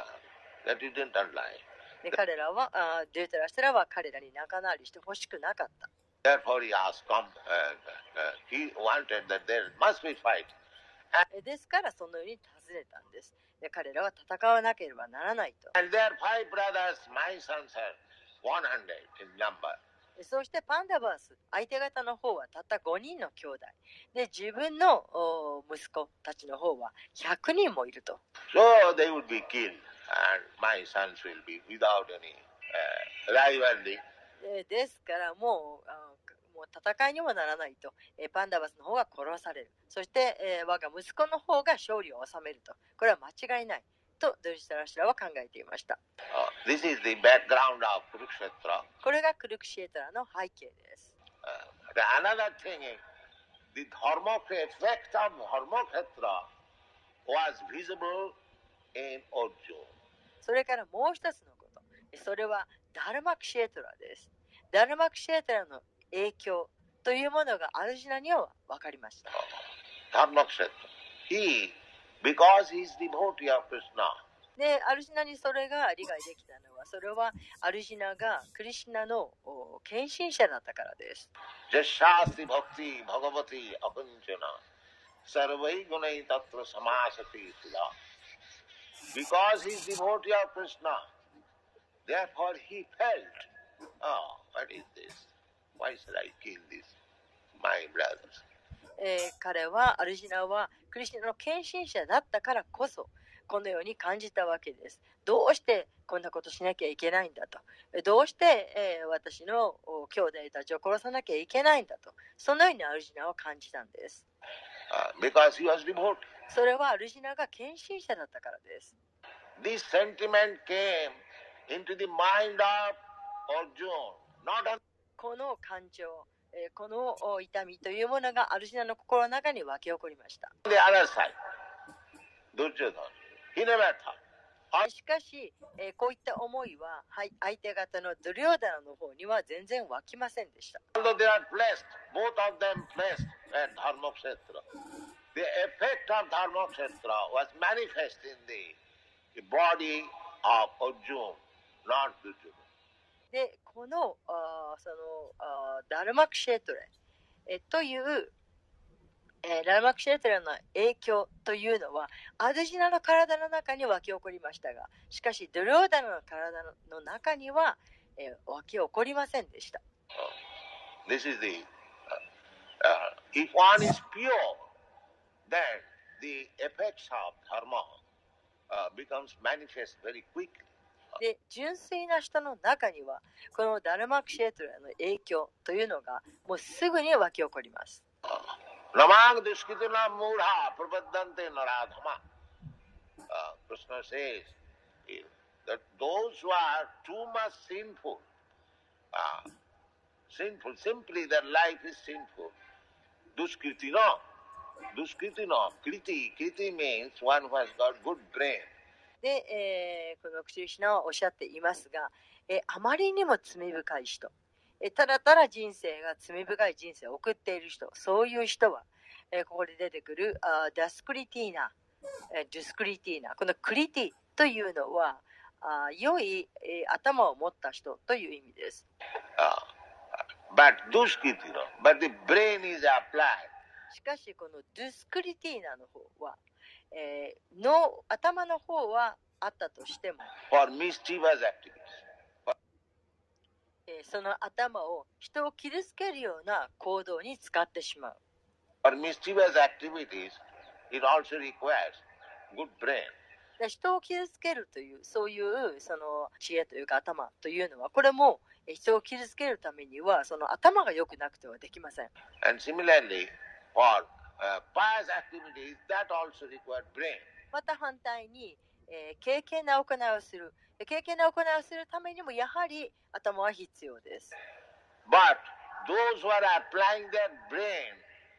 Uh, that he did not lie. で彼らはあドリトラスラは彼らに仲直りしてほしくなかった。 Therefore he asked, come, uh, uh, he wanted that there must be fight. ですからそのように尋ねたんです。で彼らは戦わなければならないと。 And there are five brothers, my sons are one hundred in number. そしてパンダバース、相手方の方はたったごにんの兄弟。で、自分の息子たちの方はひゃくにんもいると。 So they would be killed and my sons will be without any uh, rivalry. で、ですからもう、あもう戦いにもならないと、えパンダバスの方が殺される。そして、えー、我が息子の方が勝利を収めると。これは間違いない。とドリトラスラは考えていました。 Uh, this is the background of Kurukshetra. これがクルクシエトラの背景です。 Uh, the another thing is, the Dharmaksheta, effect of Dharmaksheta was visible in Arjuna. それからもう一つのこと。それはダルマクシエトラです。ダルマクシエトラの影響というものがアルジュナには分かりました。 Dharmaksheta. He, because he is devotee of Krishna. で、アルジュナにそれが理解できたのは、それはアルジュナがクリシュナの献身者だったからです。 Jashasti bhakti bhagavati akunchana sarvai gunai tatra samasati sudha. Because he is devotee of Krishna, therefore he felt, oh, what is this? Why should I kill this, my brothers? えー、彼は、アルジュナはクリシュナの献身者だったからこそ、このように感じたわけです。どうしてこんなことしなきゃいけないんだと。どうして、えー、私の兄弟たちを殺さなきゃいけないんだと。そのようにアルジュナは感じたんです。 Uh, because he was devotee. それはアルジュナが献身者だったからです。 This sentiment came into the mind of Arjuna, not only この感情、えー、この痛みというものがアルジュナの心の中に湧き起こりました。 the other side. Duryodhana. He never thought. しかし、えー、こういった思いは、はい、相手方のドリョーダナの方には全然湧きませんでした。 Although they are blessed, both of them blessed at Dharmaksheta. The effect of Dharmaksheta was manifest in the body of Arjuna, not Duryodhana. で、この、あそのあダルマクシェトレ、えという、えー、ダルマクシェトレの影響というのはアルジュナの体の中に湧き起こりましたが、しかしドリョーダナの体の中には、えー、湧き起こりませんでした。 This is the, uh, uh, if one is pure, then the effects of dharma uh, becomes manifest very quickly. で、純粋な人の中にはこのダルマクシェトレの影響というのがもうすぐに湧き起こります。 Namag duskituna mudha prapaddante naradhama. Krishna says that those who are too much sinful, uh, sinful, simply their life is sinful. Duskritina, duskritina, kriti, kriti means one who has got good brain. で、えー、このクリシュナはおっしゃっていますが、えー、あまりにも罪深い人、えー、ただただ人生が罪深い人生を送っている人、そういう人は、えー、ここで出てくるあダスクリティーナ、えー、ドゥスクリティーナ、このクリティというのはあ良い、えー、頭を持った人という意味です。 Uh, but duskritina, but the brain is applied. しかしこのドゥスクリティーナの方はえー、の頭の方はあったとしても、 for mischievous activities. えー、その頭を人を傷つけるような行動に使ってしまう。 For mischievous activities, it also requires good brain. で人を傷つけるというそういうその知恵というか頭というのはこれも人を傷つけるためにはその頭が良くなくてはできません。 And similarly, for Uh, pious activities that also require brain. また反対に、えー、敬虔な行いをする敬虔な行いをするためにもやはり頭は必要です。 But those who are applying their brain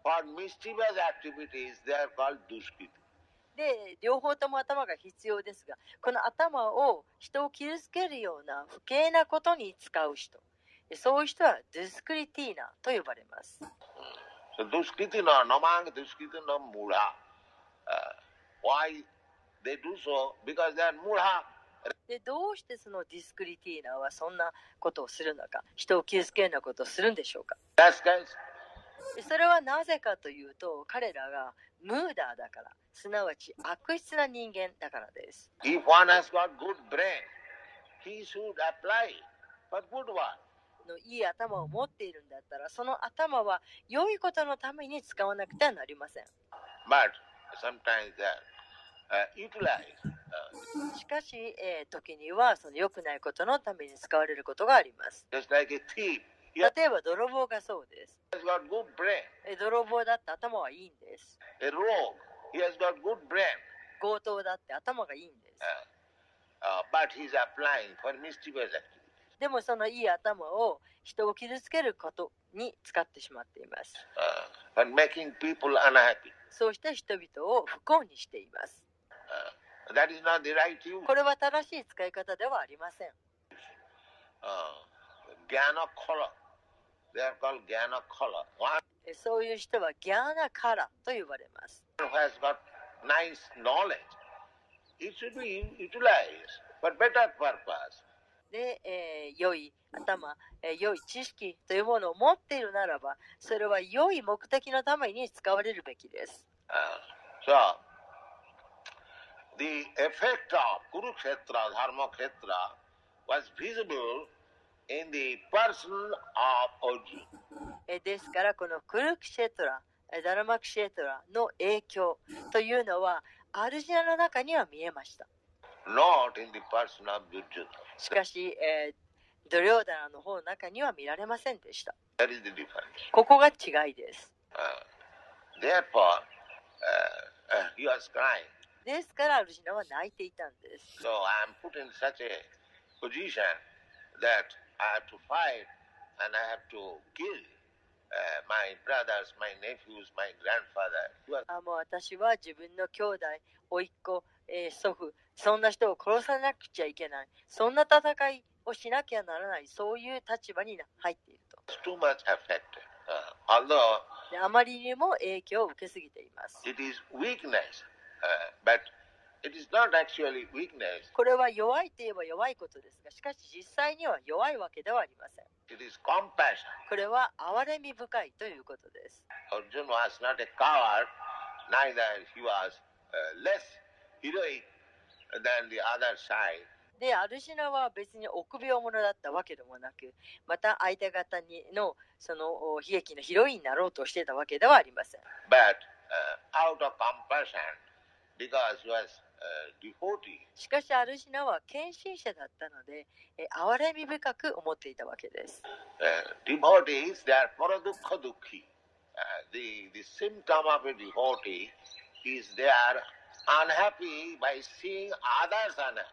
For mischievous activities, they are called duskiti. で、両方とも頭が必要ですが、この頭を人を傷つけるような不敬なことに使う人、そういう人はドゥスクリティーナと呼ばれます。 So duskiti no namang duskiti no mudha. Uh, why they do so? Because they are mudha. で、どうしてそのディスクリティーナはそんなことをするのか、人を傷つけるようなことをするんでしょうか。 That's guys. それはなぜかというと、彼らがムーダーだから、すなわち悪質な人間だからです。 If one has got good brain, he should apply for good one. のいい頭を持っているんだったら、その頭は良いことのために使わなくてはなりません。 But sometimes they are uh, utilized. Uh, しかし、えー、時にはその良くないことのために使われることがあります。 just like a thief. 例えば泥棒がそうです。 He has got good brain. え泥棒だって頭はいいんです。 A rogue. He has got good brain. 強盗だって頭がいいんです。 Uh, uh, but he's applying for mischievous activities. でもそのいい頭を人を傷つけることに使ってしまっています。 Uh, for making people unhappy. そうして人々を不幸にしています。 Uh, that is not the right use. これは正しい使い方ではありません。 Uh, Gyana Khala. They are called Gyana Khala. One そういう人はギャーナカラと呼ばれます。 who has got nice knowledge, it should be utilized for better purpose. で、えー良い頭、えー良い知識というものを持っているならば、それは良い目的のために使われるべきです。 Uh, so, the effect of Kurukshetra, Dharmakhetra was visible in the person of Arjuna. えーですから、このクルクシェトラ、えーダラマクシェトラの影響というのは、アルジュナの中には見えました。 Not in the person of Duryodhana. しかし、えードリョーダナの方の中には見られませんでした。 That is the difference. ここが違いです。 Uh, therefore, uh, uh, he was crying. ですからアルジュナは泣いていたんです。 So I am put in such a position that I have to fight and I have to kill uh, my brothers, my nephews, my grandfather. He was あもう私は自分の兄弟、甥っ子、えー祖父、そんな人を殺さなくちゃいけない。そんな戦いをしなきゃならない。そういう立場に入っていると。 too much affected. Uh, although であまりにも影響を受けすぎています。 it is weakness, uh, but it is not actually weakness. これは弱いといえば弱いことですが、しかし実際には弱いわけではありません。 It is compassion. これは憐れみ深いということです。 Arjuna was not a coward, neither he was uh, less heroic than the other side. で、アルジュナは別に臆病者だったわけでもなく、また相手方にのその悲劇のヒロインになろうとしていたわけではありません。 But uh, out of compassion, because he was uh, devotee, しかしアルジュナは献身者だったので、え憐れみ深く思っていたわけです。 uh, devotees, they are paradukha dukhi. Uh, the, the symptom of a devotee is they are unhappy by seeing others unhappy.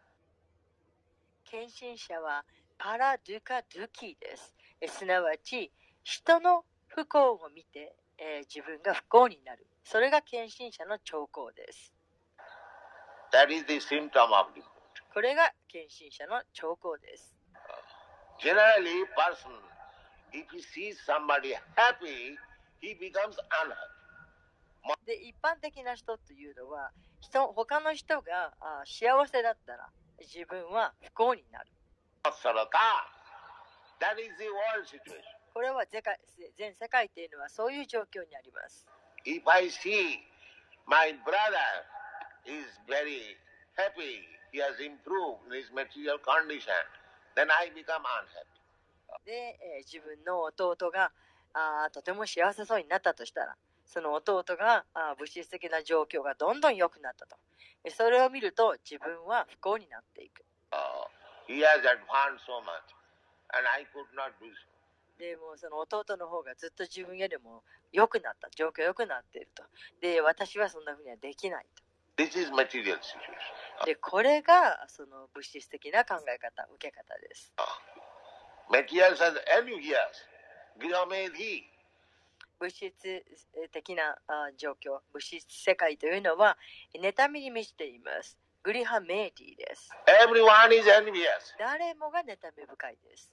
献身者はパラドゥカドゥキです。えすなわち人の不幸を見て、えー自分が不幸になる。それが献身者の兆候です。 That is the symptom of devotee. これが献身者の兆候です。 Generally, person, if he sees somebody happy, he becomes unhappy. で、一般的な人というのは、人他の人があ幸せだったら自分は不幸になる。 Sarata. That is the world situation. これは世界全世界というのはそういう状況にあります。 If I see my brother is very happy, he has improved in his material condition, then I become unhappy. で、えー自分の弟があとても幸せそうになったとしたら、その弟があ物質的な状況がどんどん良くなったと。えそれを見ると自分は不幸になっていく。 Uh, he has advanced so much, and I could not do so. でもその弟の方がずっと自分よりも良くなった、状況良くなっていると。で、私はそんなふうにはできないと。 This is material situation. で、これがその物質的な考え方、受け方です。 Material says, and you hears, Grihamedhi. 物質的な状況、物質世界というのは妬みに満ちています。グリハメーティです。 Everyone is envious. 誰もが妬み深いです。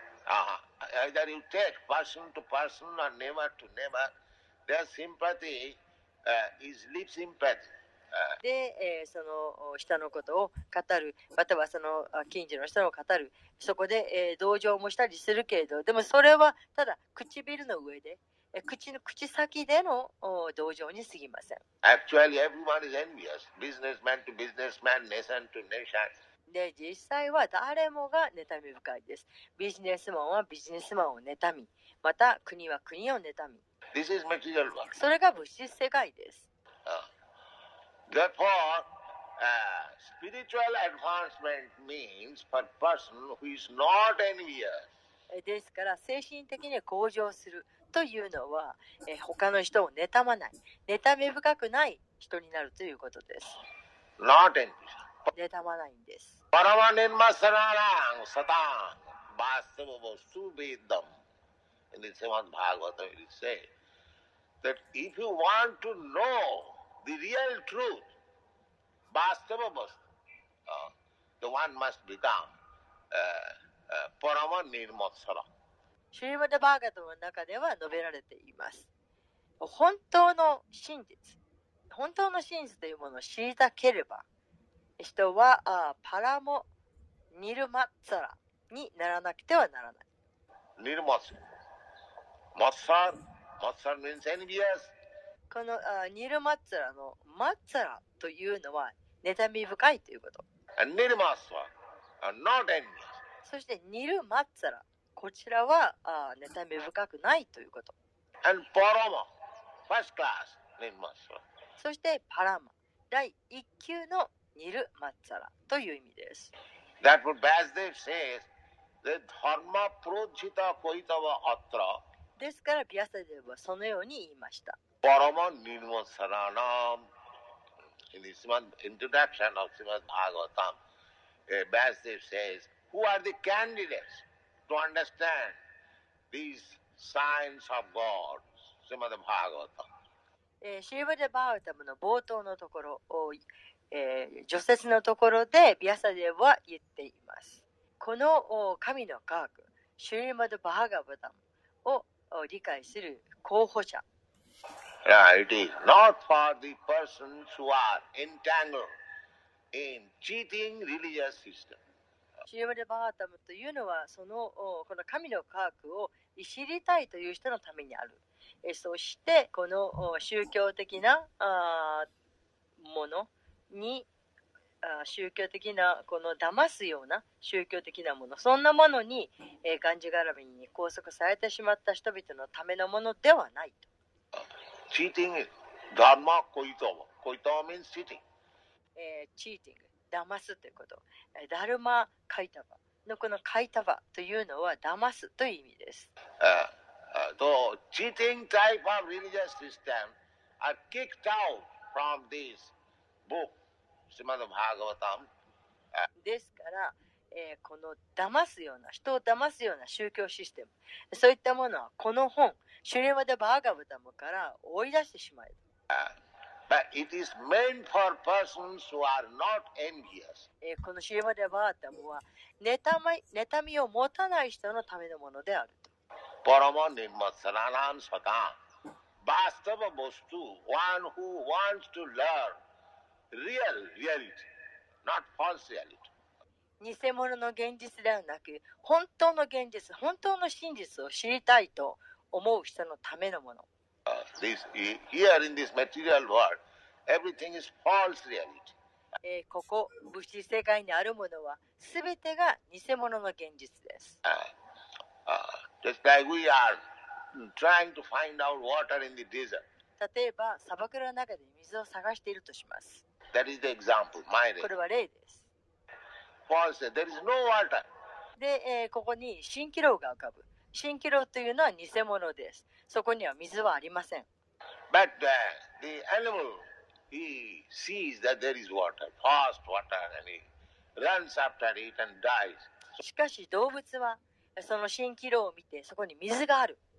Uh, either you take person to person or neighbor to neighbor, their sympathy uh, is lip sympathy. で、えー、その人のことを語る、またはその近所の人を語る、そこで、えー、同情もしたりするけれど、でもそれはただ唇の上で、えー、口の口先での同情に過ぎません。 Actually, everyone is envious. Businessman to businessman, nation to nation. で、実際は誰もが妬み深いです。ビジネスマンはビジネスマンを妬み、また国は国を妬み。 This is material world. それが物質世界です。 Therefore, uh, spiritual advancement means for person who is not envious. ですから精神的に向上するというのは、え他の人を妬まない、妬み深くない人になるということです。 Not envious. 妬まないんです。 パラマネンマサラランサタンバスタボボストベダム In the Srimad Bhagavatam it is said that if you want to know the real truth, Bastava Vastu, uh, the one must become uh, uh, Parama Nirmatsara. シュリマダ・バーガトの中では述べられています。本当の真実、本当の真実というものを知りたければ、人はあパラモ・ニルマッツァラにならなくてはならない。 ニルマッツァラ。マッツァラ。マッツァラ means envious. このあニルマッツァラのマッツァラというのは妬み深いということ。 And ニルマッツァラ are not envious. そしてニルマッツァラ、こちらはあ妬み深くないということ。 And パラマ、first class ニルマッツァラ。 そしてパラマ、第一級のニルマッツァラという意味です。 That what Vasudev says, that dharma projita koitava atra. ですからビアサデブはそのように言いました。 Parama nirmasaranam. In the introduction of Srimad Bhagavatam, uh, Vasudev says, who are the candidates to understand these signs of God? Srimad Bhagavatam. えー、シーバデ・バータムの冒頭のところを、えー、序説のところでビアサデブは言っています。この神の科学、シュリマド・バーガバタムを理解する候補者。 Yeah, it is not for the persons who are entangled in cheating religious system. シュリマド・バータムというのはそのこの神の科学を知りたいという人のためにある。えそしてこの宗教的なあものにあ宗教的なこの騙すような宗教的なもの、そんなものに、えー、がんじがらめに拘束されてしまった人々のためのものではないと。 Cheating is dharma koitava. Koitava means cheating. えー、チーティング、騙すということ。ダルマカイタバのこのカイタバというのは騙すという意味です。 Uh, Uh, so, cheating type of religious system are kicked out from this book, Srimad Bhagavatam. Uh, ですから、えー、この騙すような、人を騙すような宗教システム、そういったものはこの本、シュリマダ・バーガバタムから追い出してしまえ。 uh, but it is meant for persons who are not envious. えー、このシュリマダ・バータムは妬み、妬みを持たない人のためのものであると。 Parama nirmatsaranam satam. Bastava bostu, one who wants to learn real reality, not false reality. 偽物の現実ではなく、本当の現実、本当の真実を知りたいと思う人のためのもの。 Uh, this, here in this material world, everything is false reality. えー、ここ、物質世界にあるものは、すべてが偽物の現実です。 Uh, uh, just like we are trying to find out water in the desert. 例えば、砂漠の中で水を探しているとします。 That is the example, my way. これは例です。 False, there is no water. で、えー、ここに蜃気楼が浮かぶ。蜃気楼というのは偽物です。そこには水はありません。 But uh, the animal, he sees that there is water, fast water, and he runs after it and dies. しかし動物はその蜃気楼を見てそこに水がある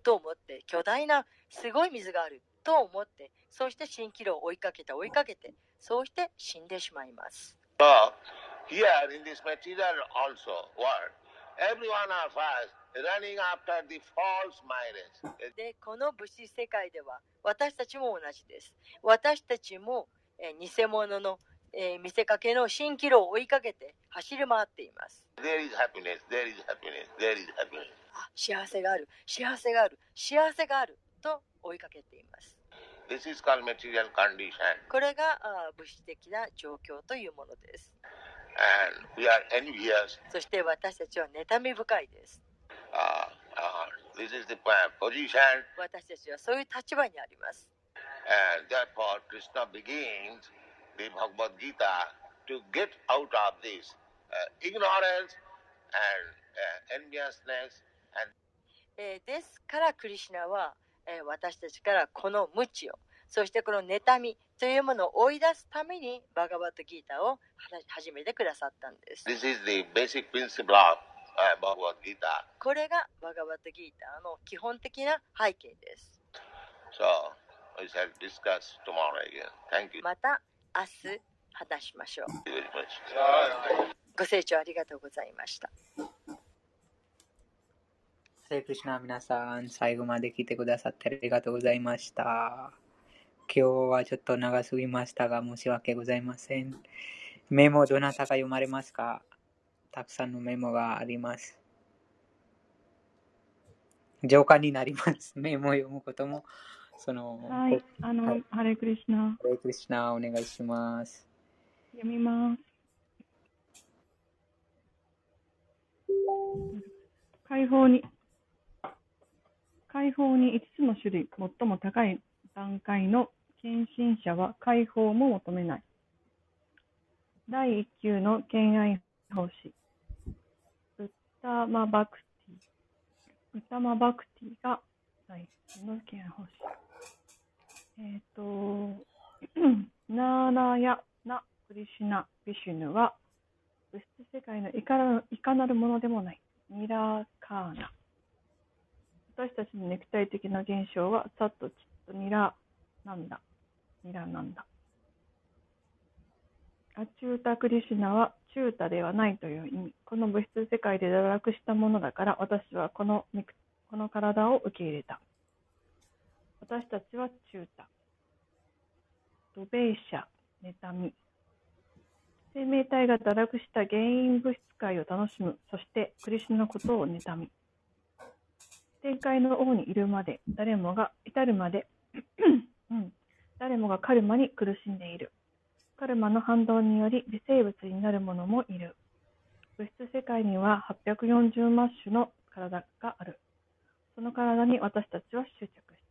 と思って、巨大なすごい水があると思って、そうして蜃気楼を追いかけて追いかけて、そうして死んでしまいます。 So, here in this material also world, every one of us running after the false minded. で、この物質世界では私たちも同じです。私たちも、えー、偽物の、えー、見せかけの蜃気楼を追いかけて走り回っています。 There is happiness, there is happiness, there is happiness. あ、幸せがある、幸せがある、幸せがあると追いかけています。 This is called material condition. これがあ物質的な状況というものです。 And we are envious. そして私たちは妬み深いです。 Uh, uh, this is the position. 私たちはそういう立場にあります。 And therefore, Krishna begins the Bhagavad Gita to get out of this uh, ignorance and uh, enviousness. And えー、ですからクリシュナは、えー、私たちからこの無知を、そしてこの妬みというものを追い出すためにバガバットギータを始めてくださったんです。 This is the basic principle of uh, Bhagavad Gita. これがバガバットギータの基本的な背景です。 So, we shall discuss tomorrow again. Thank you. また明日話しましょう。 Thank you very much. ご清聴ありがとうございました。 ハレクリシュナ、皆さん最後まで聞いてくださってありがとうございました。今日はちょっと長すぎましたが申し訳ございません。メモどなたか読まれますか？たくさんのメモがあります。浄化になります。メモを読むこともそのはい、あの、はい、ハレクリシュナ。 ハレクリシュナお願いします。 読みます。解放に解放にいつつの種類、最も高い段階の献身者は解放も求めない。だいいっ級の敬愛奉仕、ウッタマバクティ、ウッタマバクティがだいいっ級の敬愛奉仕。えっと、ナーナヤナクリシュナビシュヌは物質世界のいかなる、いかなるものでもない。ニラカーナ。私たちの肉体的な現象はサッとチッとニラなんだ。ニラなんだ。アチュータクリシュナはチュータではないという意味。この物質世界で堕落したものだから私はこの肉、この体を受け入れた。私たちはチュータ。ドベイシャ、妬み。生命体が堕落した原因物質界を楽しむ。そしてクリシュナのことを妬み。天界の王にいるまで、誰もが至るまで、うん、誰もがカルマに苦しんでいる。カルマの反動により微生物になる者もいる。物質世界にははっぴゃくよんじゅう万種の体がある。その体に私たちは執着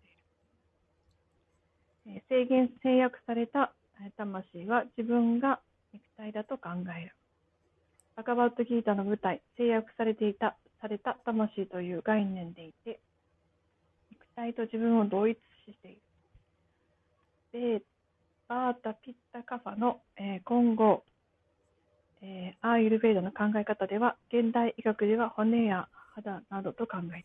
している。制限、制約された魂は自分が肉体だと考える。バガバットギータの舞台、制約されていたされた魂という概念でいて、肉体と自分を同一視している。で、バータ・ピッタ・カファの、えー、今後、えー、アーユルヴェーダの考え方では、現代医学では骨や肌などと考えている。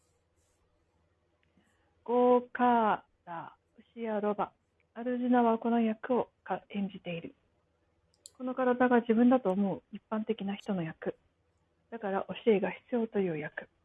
ゴーカーラ、牛やロバ、アルジュナはこの役を演じている。この体が自分だと思う一般的な人の役。だから教えが必要という役。